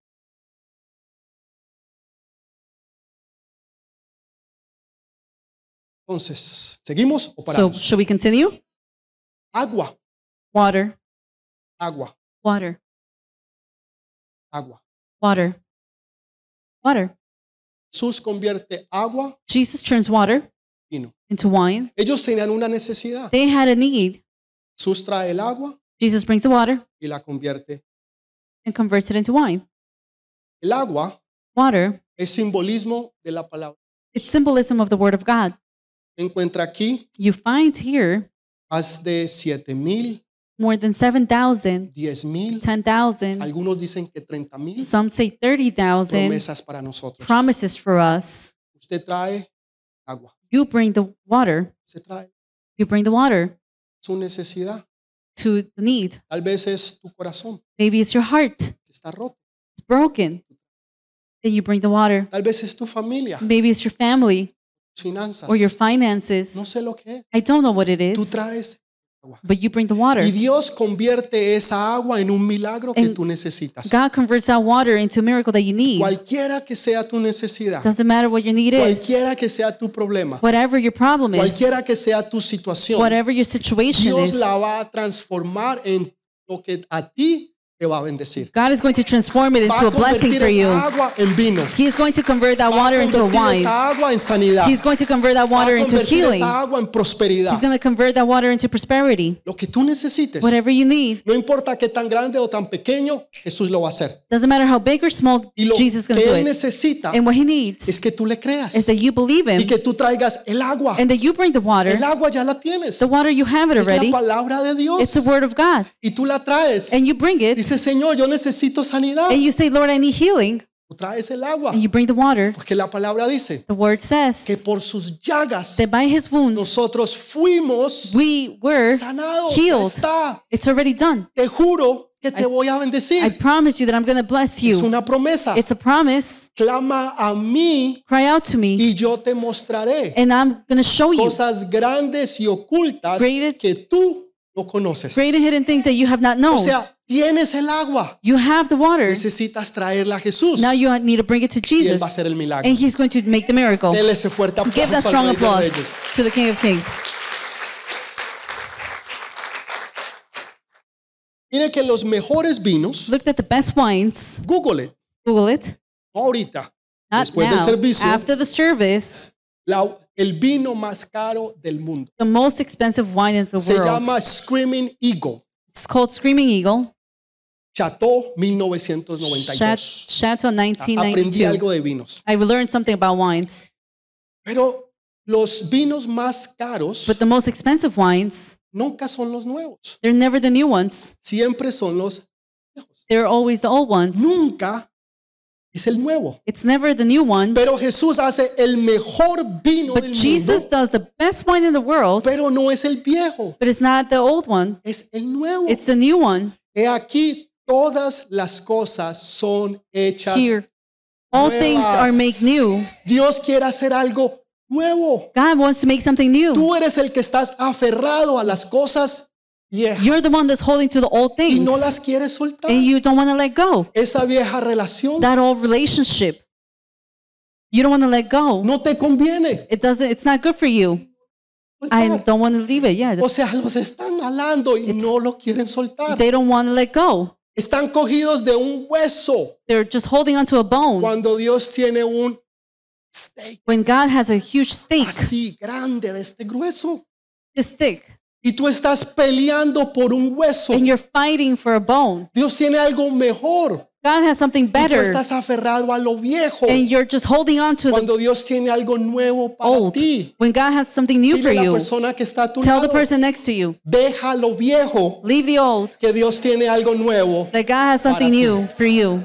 Entonces, ¿seguimos o So, paramos? should we continue? Agua, Water, agua, water, agua. water, water. Jesús convierte agua Jesus turns water en vino. into wine. Ellos tenían una necesidad. They had a need. Jesús trae el agua Jesus brings the water y la convierte. and converts it into wine. El agua Water, es simbolismo de la palabra. it's symbolism of the word of God. Se encuentra aquí You find here más de siete mil, more than seven thousand, diez mil, ten thousand, algunos dicen que treinta mil some say thirty thousand promesas para nosotros. promises for us. Usted trae agua. You bring the water. Usted trae You bring the water su necesidad. to the need. Tal vez es tu corazón Maybe it's your heart. que está roto. It's broken. Then you bring the water. Tal vez es tu familia, Maybe it's your family tus finanzas. or your No finances. sé lo que es. I don't know what it Tú is, traes agua. but you bring the water. Y Dios convierte esa agua en un milagro que And tú necesitas. God converts that water into a miracle that you need. Cualquiera que sea tu necesidad, Doesn't matter what your need is. cualquiera que sea tu problema, Whatever your problem is, cualquiera que sea tu situación, whatever your situation Dios is, la va a transformar en lo que a ti te va a bendecir. God is going to transform it Va into a a blessing convertir for you. esa agua en vino. He is going to convert that Va a water into a convertir wine. esa agua en sanidad. He's going to convert that Va water a into convertir healing. esa agua en prosperidad. He's going to convert that water into prosperity. Lo que tú necesites, Whatever you need. no importa qué tan grande o tan pequeño, Jesús lo va a hacer. Doesn't matter how big or small, Y lo Jesus is going que to do Él it. necesita And what he needs es que tú le creas is that you believe y him que tú traigas el agua. and that you bring the water. El agua ya la tienes. The water, you have it Es la already. palabra de It's Dios. the word of God. Y tú la traes. And you bring it Dice, Señor, yo necesito sanidad. and you say, Lord, I need healing. Tú traes el agua. And you bring the water. Porque la palabra dice The word que says por sus llagas that by his wounds nosotros fuimos we were sanados. Ya healed. está. It's already done. Te juro que te voy a I bendecir. promise you that I'm going to bless Es you. una promesa. It's a promise. Clama a mí Cry out to me y yo te mostraré and I'm going to show you cosas grandes y ocultas Great- que tú no conoces. great and hidden things that you have not O known. sea, tienes el agua. You have the water. Necesitas traerla a Jesús Now you need to bring it to y Él Jesus va a hacer el milagro. and he's going to make the miracle. Dele ese fuerte Give that aplauso strong al Rey de applause Reyes. to the King of Kings. Mire que los mejores vinos, Look at the best wines. Google it, Google it. no ahorita, Not después del now. servicio, After the service, la- el vino más caro del mundo. the most expensive wine in the Se world. llama Screaming Eagle. It's called Screaming Eagle. Chateau mil novecientos noventa y Chat- dos. Chateau Aprendí nineteen ninety-two. algo de vinos. I learned something about wines, Pero los vinos más caros but the most expensive wines, nunca son los nuevos. they're never the new ones. Siempre son los viejos. They're always the old ones. Nunca es el nuevo. It's never the new one. Pero Jesús hace el mejor vino But del Jesus mundo, does the best wine in the world, pero no es el viejo, but it's not the old one. es el nuevo. It's the new one. He aquí todas las cosas son hechas Here, all nuevas. things are made new. Dios quiere hacer algo nuevo. God wants to make something new. Tú eres el que estás aferrado a las cosas viejas You're the one that's holding to the old y things, no las quieres soltar. and you don't want to let go. Esa vieja relación That old relationship, you don't want to let go. no te conviene. It doesn't. It's not good for you. I Soltar. don't want to leave it. Yeah, O sea, los están jalando y It's- no lo quieren soltar. they don't want to let go. Están cogidos de un hueso They're just holding onto a bone cuando Dios tiene un steak when God has a huge stake. así grande de este grueso. This stick, Y tú estás peleando por un hueso. and you're fighting for a bone. Dios tiene algo mejor. God has something Y tú better, estás aferrado a lo viejo. and you're just holding on to the Cuando Dios tiene algo nuevo para old. ti. When God has something new for Dile a la you, persona que está a tu tell the lado. person next to you, Deja lo viejo, leave the old. que Dios tiene algo nuevo. That God has something Para ti. new for you.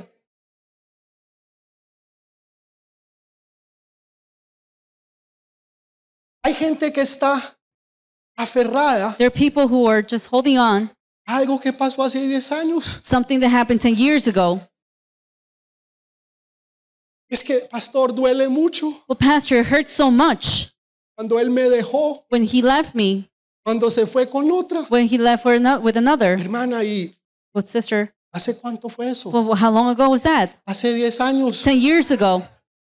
Hay gente que está aferrada There are people who are just holding on a algo que pasó hace diez años. something that happened ten years ago. Es que, pastor, duele mucho Well, Pastor, it hurts so much cuando él me dejó, when he left me, cuando se fue con otra. when he left for ano- with another. Hermana, ¿y Well, sister, hace cuánto fue eso? well, how long ago was that? Hace diez años. ten years ago.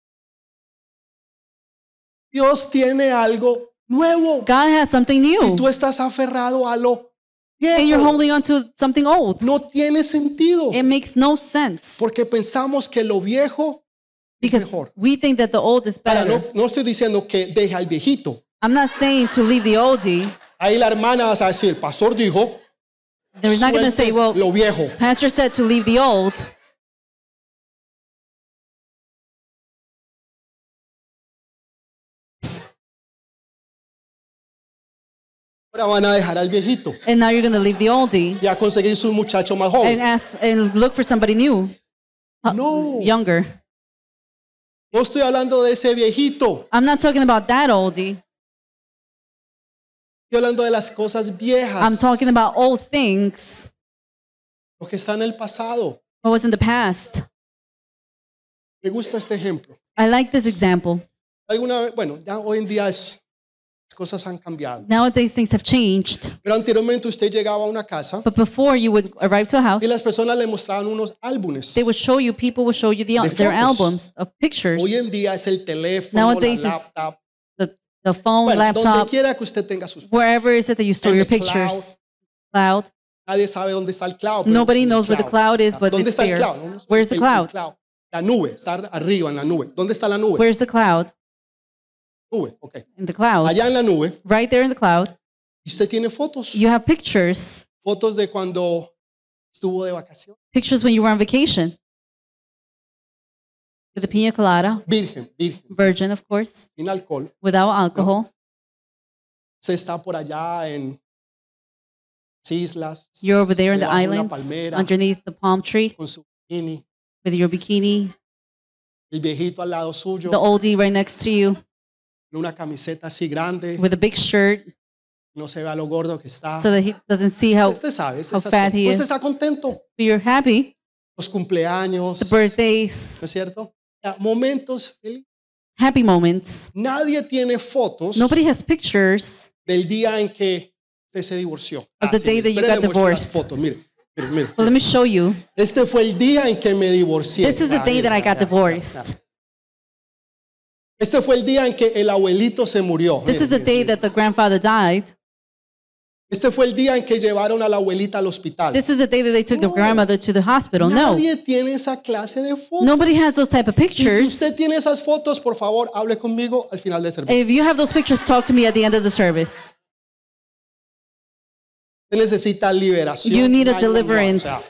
Dios tiene algo nuevo. God has something Y new, tú estás aferrado a lo and you're viejo. holding on to something old. No tiene sentido. It makes no sense Porque pensamos que lo viejo es because mejor. we think that the old is Ahora, no, better. no estoy diciendo que deja al viejito. I'm not saying to leave the oldie. Ahí la hermana va a decir, el pastor dijo, They're not going to say, suelte well, lo viejo. Pastor said to leave the old. Ahora van a dejar al viejito And now you're going to leave the oldie y a conseguir su muchacho más and joven. ask and look for somebody new, uh, No, younger. no estoy hablando de ese viejito. I'm not talking about that oldie. Estoy hablando de las cosas viejas. I'm talking about old things. Lo que está en el pasado. What was in the past. Me gusta este ejemplo. I like this example. Alguna vez, bueno, ya hoy en día es, las cosas han cambiado. Nowadays things have changed. Pero anteriormente usted llegaba a una casa But before you would arrive to a house, y las personas le mostraban unos álbumes. they would show you, people would show you the, De their fotos. albums of pictures. Hoy en día es el teléfono, Nowadays la it's laptop. The, the phone, Bueno, donde laptop, quiera que usted tenga sus fotos. wherever is it that you store En your the pictures. Cloud. Nadie sabe dónde está el cloud. pero Nobody el knows where the cloud is, but ¿Dónde it's está el there. cloud? No, no sé. Where's the El- el cloud? La nube, está arriba en la nube. ¿Dónde está la nube? Where's the cloud? Nube, ok. In the cloud. Allá en la nube, Right there in the cloud, y usted tiene fotos. you have pictures. Fotos de cuando estuvo de vacaciones. Pictures when you were on vacation. With a pina colada, Virgen, virgen, virgin, of course, sin alcohol. without alcohol. Se está por allá en las islas. You're over there in the debajo de una islands, palmera, underneath the palm tree, con su bikini. with your bikini, El viejito al lado suyo. the oldie right next to you, En una camiseta así grande. with a big shirt, No se vea lo gordo que está. so that he doesn't see how Usted sabe. esas how cosas. fat he Usted is. está contento. you're happy. Los cumpleaños. The ¿No birthdays, es cierto? Ya, momentos felices. happy moments. Nadie tiene fotos Nobody has pictures del día en que usted se divorció. Of the day that you espere, got le muestro las divorced. fotos. Mire, mire, mire. Well, let me show you. Este fue el día en que me divorcié. This is the Ah, day mire, that I ya, got ya, divorced. ya. Este fue el día en que el abuelito se murió. This Mire, is the mire, day mire. that the grandfather died. Este fue el día en que llevaron a la abuelita al hospital. This is the day that they took the No. grandmother to the hospital. No. Nadie tiene esa clase de fotos. Nobody has those type of Y si pictures. usted tiene esas fotos, por favor, hable conmigo al final del servicio. If you have those pictures, talk to me at the end of the service. Usted necesita liberación. You need a Ay, no, no, o deliverance. sea,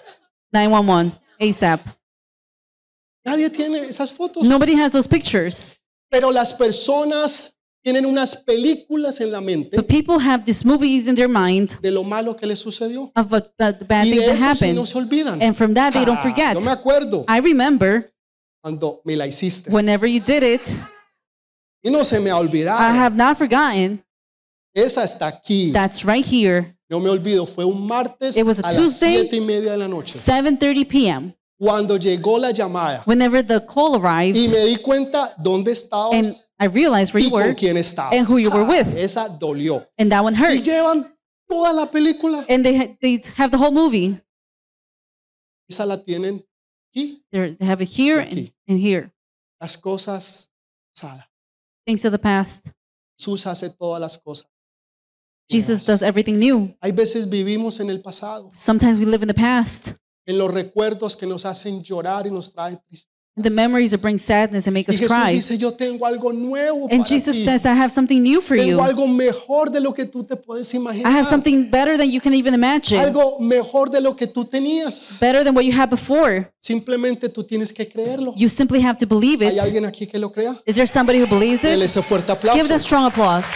nine one one, ASAP. Nadie tiene esas fotos. Nobody has those pictures. Pero las personas tienen unas películas en la mente But people have these movies in their mind de lo malo que les sucedió. of what, the, the bad Y things de that eso sí happen. no se olvidan. And from that, they don't Ah, forget. yo me acuerdo I remember cuando me la hiciste. whenever you did it, Y no se me ha I olvidado. have not forgotten. Esa está aquí. That's right here. No me olvido. Fue un martes It was a a las Tuesday. siete y media de la noche. seven thirty p.m. Cuando llegó la llamada. Whenever the call arrived, Y me di cuenta dónde and estabas I realized where y you con were, quién estabas. and who you were Ah, with. Esa dolió. and that one Y hurt. llevan toda la película. And they ha- they have the whole movie. Esa la tienen aquí. They're, they have it here and, Aquí. and here. Las cosas pasadas. Things of the past. Jesús hace todas las cosas. Jesus does everything new. Hay veces vivimos en el pasado, Sometimes we live in the past, en los recuerdos que nos hacen llorar y nos traen tristeza. the memories that bring sadness and make Y us Jesús cry. dice, yo tengo algo nuevo And para Jesus ti. says, I have something new for Tengo you. algo mejor de lo que tú te puedes I imaginar. have something better than you can even imagine. Algo mejor de lo que tú tenías. Better than what you had before. Simplemente tú tienes que creerlo. You simply have to believe ¿Hay it. alguien aquí que lo crea? Is there somebody who believes Dele it? ese fuerte Give aplauso. them strong applause.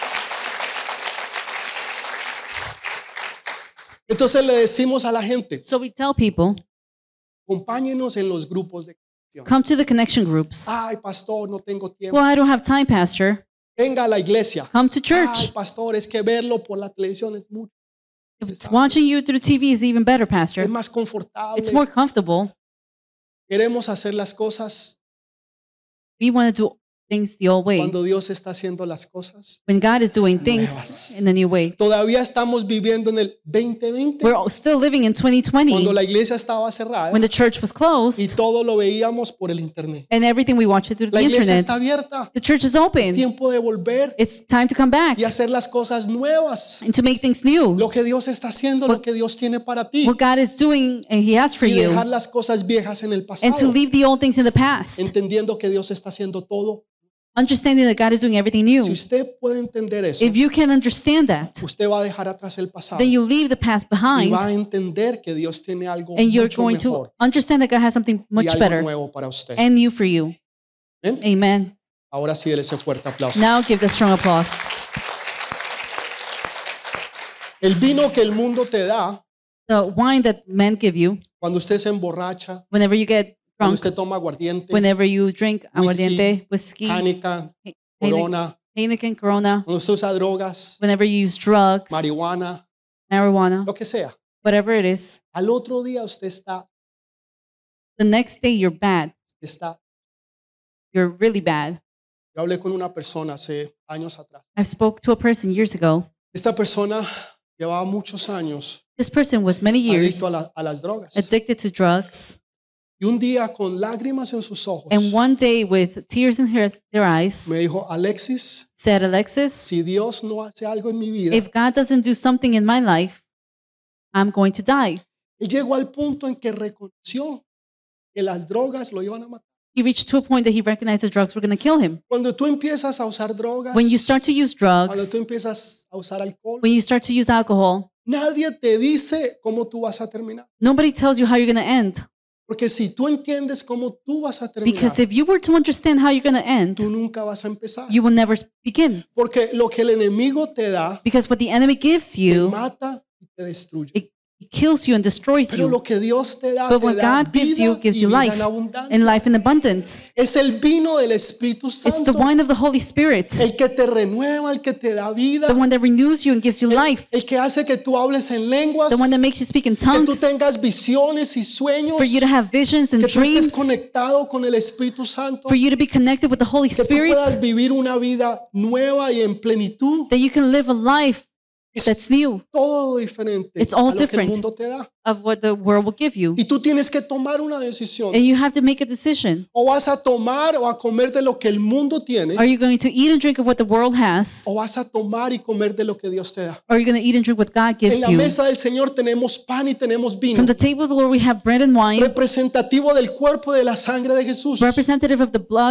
Entonces le decimos a la gente, So we tell people, acompáñenos en los grupos de oración. come to the connection groups. Ay, pastor, no tengo tiempo. Well, I don't have time, Pastor. Venga a la iglesia. Come to Ay, church. pastor, es que verlo por la televisión es mucho. If it's watching you through T V is even better, Pastor. Es más confortable. It's more comfortable. Queremos hacer las cosas We want to do things the old way. cuando Dios está haciendo las cosas. When God is doing things Nuevas. in a new way. Todavía estamos viviendo en el veinte veinte, We're still living in twenty twenty cuando la iglesia estaba cerrada when the church was y closed todo lo veíamos por el internet. and everything we watch it through La the iglesia internet. está abierta. The church is Es open. tiempo de volver It's time to come back y hacer las cosas nuevas. and to make things new. Lo que Dios está haciendo, lo que Dios tiene para ti. What God is doing and He has for Y you, dejar las cosas viejas en el and to pasado. leave the old things in the past, Entendiendo que Dios está haciendo todo. understanding that God is doing everything new. Si usted puede entender eso, If you can understand that, usted va a dejar atrás el pasado then you leave the past y behind va a entender que Dios tiene algo and you're mucho going to mejor understand that God has something y much algo better nuevo para usted. and new for you. ¿Ven? Amen. Ahora sí, déle ese fuerte aplauso. Now give the strong applause. El vino que el mundo te da, The wine that men give you, cuando usted se emborracha, whenever you get cuando drunk, usted toma aguardiente, whenever you drink aguardiente, whiskey, Hanukkah, He- Corona, Heineken, Corona, cuando usted usa drogas, whenever you use drugs, marihuana, marijuana, lo que sea. whatever it is, Al otro día usted está, the next day you're bad. está. You're really bad. Yo hablé con una persona hace años atrás. I spoke to a person years ago. Esta persona llevaba muchos años This person was many years adicto a, la- a las drogas. addicted to drugs. Y un día con lágrimas en sus ojos And one day, with tears in her, their eyes, me dijo, Alexis, said, Alexis, si Dios no hace algo en mi vida, if God doesn't do something in my life, I'm going to die. él llegó al punto en que reconoció que las drogas lo iban a matar. He reached to a point that he recognized the drugs were going to kill him. Cuando tú empiezas a usar drogas, When you start to use cuando drugs, tú empiezas a usar alcohol, when you start to use alcohol, nadie te dice cómo tú vas a terminar. nobody tells you how you're going to end. Porque si tú entiendes cómo tú vas a terminar, Because if you were to understand how you're going to end, tú nunca vas a empezar. you will never begin. Porque lo que el enemigo te da, Because what the enemy gives te you, mata y te destruye. it it kills you and destroys Pero you. lo que Dios te da, But te what da God gives vida you gives y you vida life en abundancia. and life in abundance. Es el vino del Espíritu It's the Santo, wine of the Holy Spirit, el que te renueva, el que te da vida, the one that renews you and gives you el, life, el que hace que tú hables en lenguas, the one that makes you speak in que tú tongues, tengas visiones y sueños, for you to have visions and que tú estés dreams, conectado con el Espíritu Santo, for you to be connected with the Holy que tú Spirit, puedas vivir una vida nueva y en plenitud. that you can live a life Es that's new todo diferente It's all a lo que el different. mundo te da. of what the world will give you. Y tú tienes que tomar una decisión. And you have to make a decision. O vas a tomar o a comer de lo que el mundo tiene, Are you going to eat and drink of what the world has? o vas a tomar y comer de lo que Dios te da. Or are you going to eat and drink what God En gives la you? mesa del Señor tenemos pan y tenemos vino, From the table of the Lord we have bread and wine, representativo del cuerpo y de la sangre de Jesús. representative of the blood, eh,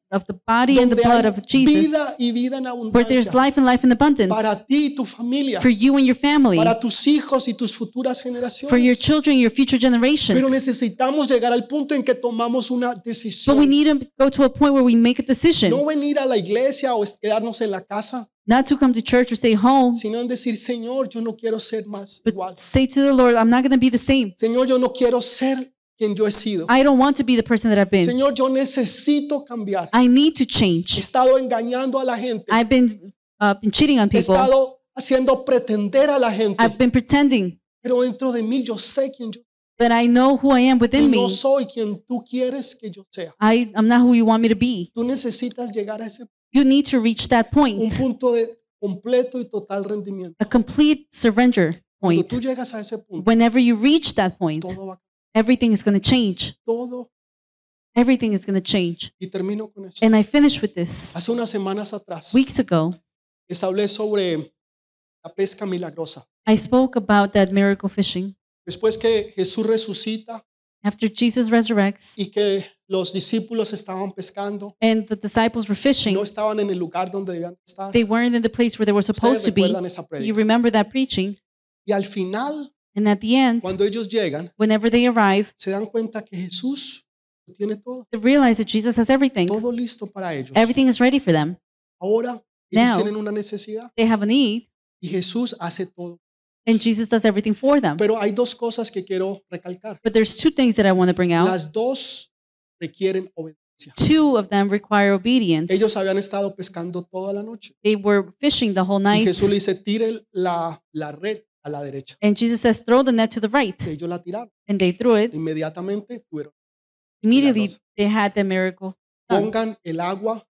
of the body and the donde blood hay of Jesus, vida y vida en where there's abundancia life and life in abundance para ti y tu familia, for you and your family, para tus hijos y tus futuras for your generaciones. children, your future Pero generations. necesitamos llegar al punto en que tomamos una But we decisión. need to go to a point where we make a decision, No venir a la iglesia o es- quedarnos en la casa, not to come to church or stay home, sino en decir, Señor, yo no quiero ser más but igual. say to the Lord, I'm not going to be the same. Señor, yo no quiero ser quien yo he sido. I don't want to be the person that I've been. Señor, yo necesito cambiar. I need to He change. estado engañando a la gente. I've been uh, been cheating on He people. estado haciendo pretender a la gente. I've been pretending, Pero dentro de mí yo sé quién yo but I know who I am y within me. no soy quien tú quieres que yo sea. I, I'm not who you want me to be. Tú necesitas llegar a ese You need to reach that un point, punto de completo y total rendimiento. a complete surrender Cuando point. tú llegas a ese punto, Whenever you reach that point, todo va everything is going to change. todo. Everything is going to change. Y termino con esto. And I finish with this. Hace unas semanas atrás Weeks ago, les hablé sobre la pesca milagrosa. I spoke about that miracle fishing. Después que Jesús resucita After Jesus resurrects y que los discípulos estaban pescando, and the disciples were fishing, no estaban en el lugar donde debían estar. they weren't in the place where they were supposed Ustedes to be. recuerdan esa You prédica. remember that preaching? Y al final, And at the end, cuando ellos llegan, whenever they arrive, se dan cuenta que Jesús lo tiene todo, they realize that Jesus has everything. todo listo para ellos. Everything is ready for them. Ahora ellos Now- tienen una necesidad They have a need, y Jesús hace todo. and Jesus does everything for them. Pero hay dos cosas que quiero recalcar. But there's two things that I want to bring out. Las dos requieren obediencia. Two of them require obedience. Ellos habían estado pescando toda la noche They were fishing the whole y night, Jesús le dice, tire la, la red a la derecha. and Jesus says, throw the net to the right. Y ellos la tiraron. And they threw it. Inmediatamente tuvieron. Immediately, Milagrosa. they had the miracle done. Pongan el agua,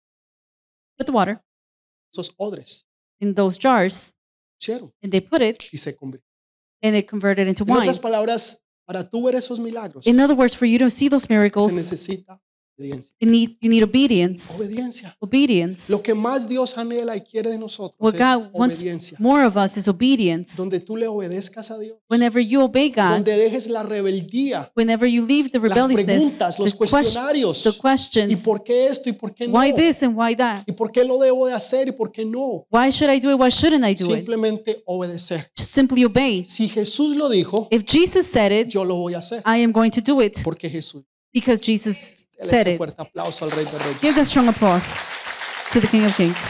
Put the water esos odres, in those jars, pusieron and they put it, y se convirtió. and it converted into En wine. otras palabras, para tú ver esos milagros, In other words, for you to see those se miracles, necesita obediencia. you need, you need obedience. Obediencia. Obedience. Lo que más Dios anhela y quiere de nosotros What es God wants obediencia. more of us is obedience. Donde tú le obedezcas a Dios. Whenever you obey God, Donde dejes la rebeldía, whenever you leave the las rebelliousness, preguntas, the, los ques- cuestionarios. the ¿Y questions, por qué esto y por qué no? why this and why that? ¿Y por qué lo debo de hacer y por qué no? Why should I do it? Why shouldn't I do it? Simplemente obedecer. Just simply obey. Si Jesús lo dijo, If Jesus said it, yo lo voy a hacer. I am going to do it Porque Jesús. because Jesus Dale said ese it. fuerte aplauso al Rey de Reyes. Give a strong applause to the King of Kings.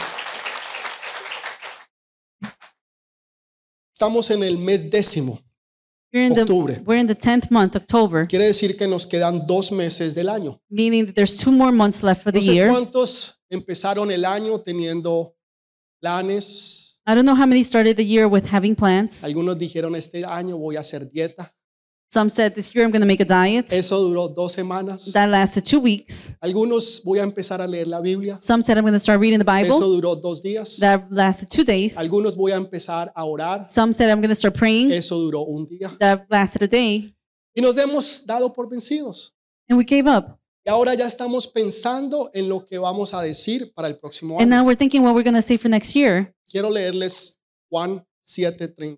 Estamos en el mes décimo. We're in the Octubre. we're in the tenth month, October, Quiere decir que nos quedan dos meses del año. meaning that there's two more months left for the No sé year. cuántos empezaron el año teniendo planes. I don't know how many started the year with having plans. Algunos dijeron este año voy a hacer dieta. Some said this year I'm going to make a diet. Eso duró dos semanas. That lasted two weeks. Algunos voy a empezar a leer la Biblia. Some said I'm going to start reading the Eso Bible. duró dos días. That lasted two days. Algunos voy a empezar a orar. Some said I'm going to start praying. Eso duró un día. That lasted a day. Y nos hemos dado por vencidos. And we gave up. Y ahora ya estamos pensando en lo que vamos a decir para el próximo And año. now we're thinking what we're going to say for next year. Quiero leerles Juan siete treinta.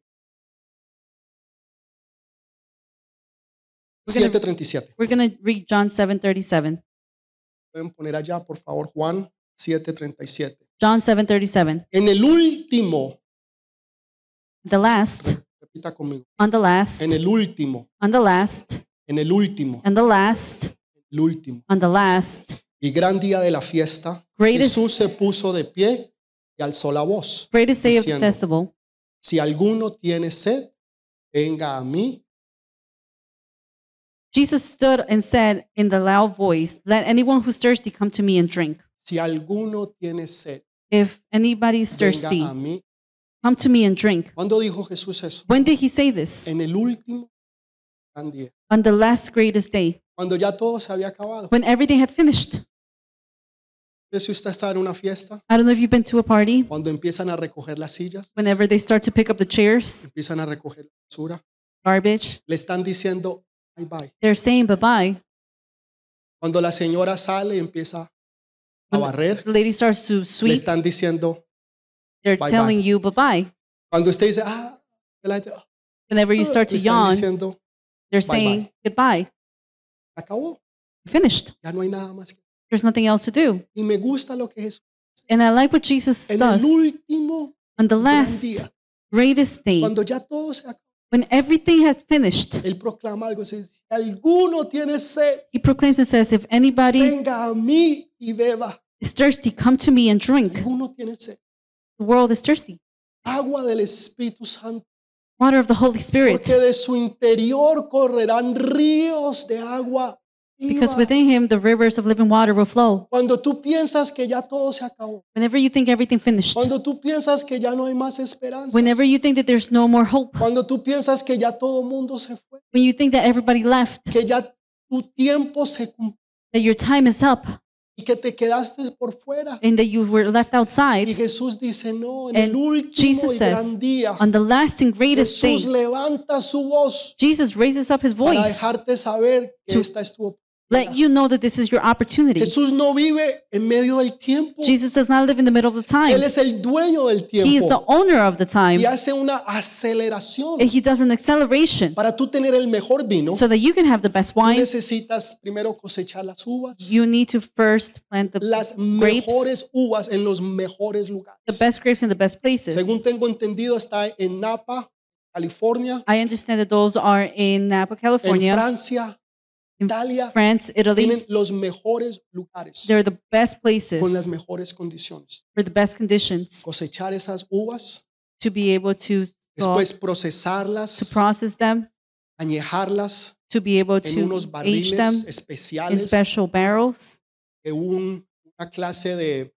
We're gonna- siete treinta y siete. We're going to read John seven thirty-seven. Pueden poner allá, por favor, Juan siete treinta y siete. John seven thirty-seven. En el último, The last, repita conmigo, on the last, en el último, on the last, en el último, and the last, el último on the last, y gran día de la fiesta, Greatest- Jesús se puso de pie y alzó la voz, greatest day of the diciendo, festival. si alguno tiene sed, venga a mí. Jesus stood and said in the loud voice, let anyone who's thirsty come to me and drink. Si alguno tiene sed, If anybody is venga thirsty, a mí. come to me and drink. ¿Cuándo dijo Jesús eso? When did he say this? En el último gran día, On the last greatest day, cuando ya todo se había acabado. when everything had finished. Si usted está en una fiesta, I don't know if you've been to a party, cuando empiezan a recoger las sillas, whenever they start to pick up the chairs, empiezan a recoger la basura, garbage, le están diciendo bye bye. they're saying bye-bye. Cuando la señora sale y empieza a barrer, The lady starts to le sweep, están diciendo, they're bye-bye. telling you bye-bye. cuando usted dice, ah, la gente, ah, Whenever you start to le están yawn, diciendo, they're bye-bye. saying goodbye. acabó, Finished. ya no hay nada más. que- There's nothing else to do. Y me gusta lo que Jesús And I like what Jesus en does el último on the gran last día, greatest day, cuando ya todo se acabó, when everything has finished. Él proclama algo, dice, si alguno tiene sed, He proclaims and says, if anybody venga a mí y beba. is thirsty, come to me and drink. Alguno tiene sed. The world is thirsty. Agua del Espíritu Santo, Water of the Holy Spirit. porque de su interior correrán ríos de agua Because viva. within him the rivers of living water will flow. Cuando tú piensas que ya todo se acabó, Whenever you think everything finished. cuando tú piensas que ya no hay más esperanza, Whenever you think that there's no more hope. cuando tú piensas que ya todo mundo se fue, When you think that everybody left. que ya tu tiempo se cumplió That your time is up. y que te quedaste por fuera. And that you were left Y outside. Jesús dice, no, en And el último Jesus y says, gran día, on the last and greatest Jesús day, levanta su voz Jesus raises up his para voice. dejarte saber que to esta es tu oportunidad. Let you know that this is your opportunity. Jesús no vive en medio del tiempo. Jesus does not live in the middle of the time. Él es el dueño del He is the tiempo owner of the time. y hace una aceleración. And he does an acceleration Para tú tener el mejor vino, so that you can have the best tú wine. necesitas primero cosechar las uvas, You need to first plant the las grapes, mejores uvas en los mejores the lugares. best grapes in the best places. Según tengo entendido, está en Napa, California, I understand that those are in Napa, en California, Francia, in Italia. France, Italy. Tienen los mejores lugares They're the best con las places mejores condiciones. for the best conditions Cosechar esas uvas, to be able to después to procesarlas, process them, añejarlas to be able en to unos age them barriles in especiales special barrels, de un- una clase de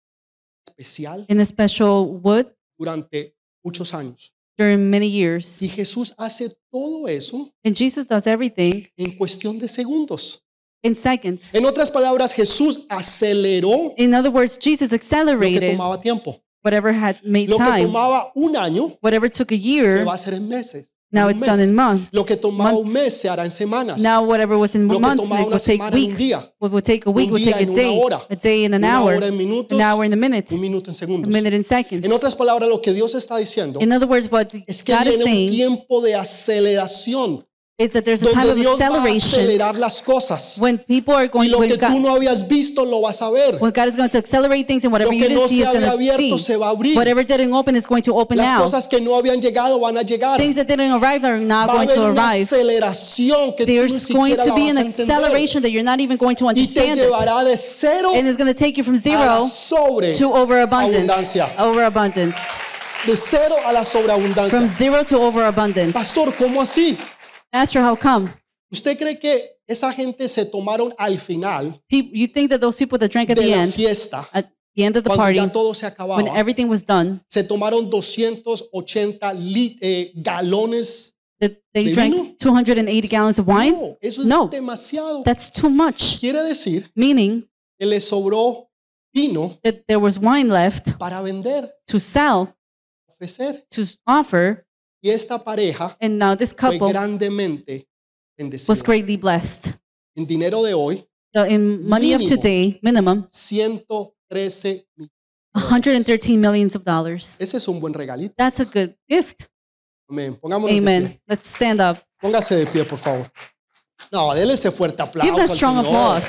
especial in a special wood durante muchos años. during many years. Y Jesús hace todo eso And Jesus does everything en cuestión de segundos. in seconds. En otras palabras, Jesús aceleró In other words, Jesus lo que accelerated tomaba tiempo. whatever had made Lo que time. tomaba un año Whatever took a se year, va a hacer en meses. now en it's un done mes. in months. Lo que tomaba un months. mes se hará en semanas. Now whatever was in Lo que months, tomaba it una will take semana en un week. día, What will take a week un will día take en a una day, hora, a day in an una hour, hora en minutos, an hour in a minute, un minuto en a segundos. minute in seconds. En otras palabras, lo que Dios está diciendo In other words, what es que God is viene un saying tiempo de aceleración is that there's a time donde of Dios va a acceleration acelerar las cosas when people are y going, lo when que tú God, no habías visto lo vas a ver. when God is going to accelerate things, and Lo whatever you que didn't no see se is había going to abierto see. se va a abrir. Whatever didn't open is going to open Las now. cosas que no habían llegado van a llegar. Things that didn't arrive are now Va a going haber to una arrive. aceleración que tú ni There's going siquiera to la be vas an a entender acceleration that you're not even going to y te understand it. llevará de cero And it's going to take you from a la zero sobre to overabundance. abundancia. Overabundance. de cero a la From sobreabundancia. zero to overabundance. Pastor, ¿cómo así? Pastor, how come? ¿Usted cree que esa gente se tomaron al final Pe- You think that those people that drank at de the la end, fiesta, at the end of the cuando party, ya todo se when acababa, everything was done, se tomaron doscientos ochenta lit- eh, galones? that they ¿De drank vino? two hundred eighty gallons of wine? No, eso es No. demasiado. That's too much. Quiere decir Meaning que le sobró vino that there was wine left para vender, to sell, ofrecer. to offer, Y esta pareja and now this fue couple grandemente bendecida. was greatly blessed. En dinero de hoy, So in money of Mínimo. today, minimum, ciento trece millones. one hundred thirteen millions of dollars. Ese es un buen regalito. That's a good gift. Amén. Pongámonos de Amen. pie. Let's stand up. Póngase de pie, por favor. No, déle ese fuerte aplauso Give that al strong Señor. applause.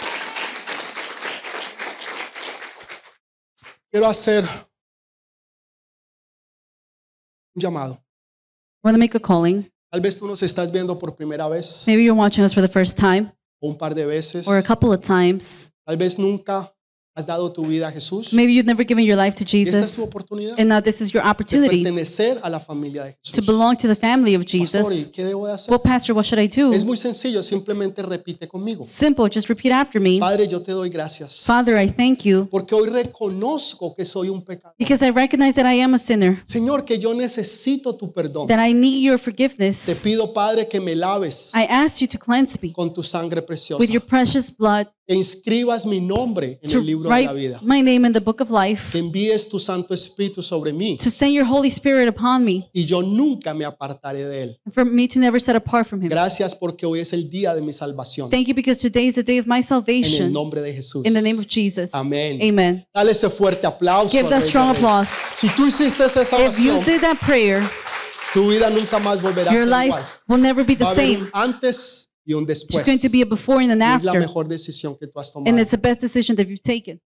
Quiero hacer un llamado. I want to make a calling. Tal vez tú nos estás viendo por primera vez Maybe you're watching us for the first time o un par de veces. or a couple of times. Tal vez nunca has dado tu vida a Jesús. Maybe you've never given your life to Y esta es tu Jesus. oportunidad And now this is your de opportunity pertenecer a la familia de to Jesús. belong to the family of Pastor, ¿y Jesus. qué debo de hacer? Well, Pastor, what should I do? Es muy sencillo, simplemente repite conmigo. Simple. Just repeat after me. Padre, yo te doy gracias Father, I thank you porque hoy reconozco que soy un pecador. because I recognize that I am a sinner, Señor, que yo necesito tu perdón. that I need your Te forgiveness. pido, Padre, que me laves I ask you to cleanse me con tu sangre preciosa. with your precious blood, Que inscribas mi nombre en to el libro de la write vida. my name in the book of Que life, envíes tu Santo Espíritu sobre mí to send your Holy Spirit upon me, y yo nunca me apartaré de él. and for me to never set apart from him. Gracias porque hoy es el día de mi salvación. Thank you because today is the day of my En el salvation. nombre de Jesús. In the name of Jesus. Amén. Amen. Dale ese fuerte aplauso. Give al that Rey de strong Reyes. applause. Si tú hiciste esa If you oración, did that prayer, tu vida nunca más volverá a your ser life igual. will never be Va the a haber same. un antes y un There's después. going to be a before and an Y es la after. mejor decisión que tú has And tomado. it's the best decision that you've taken.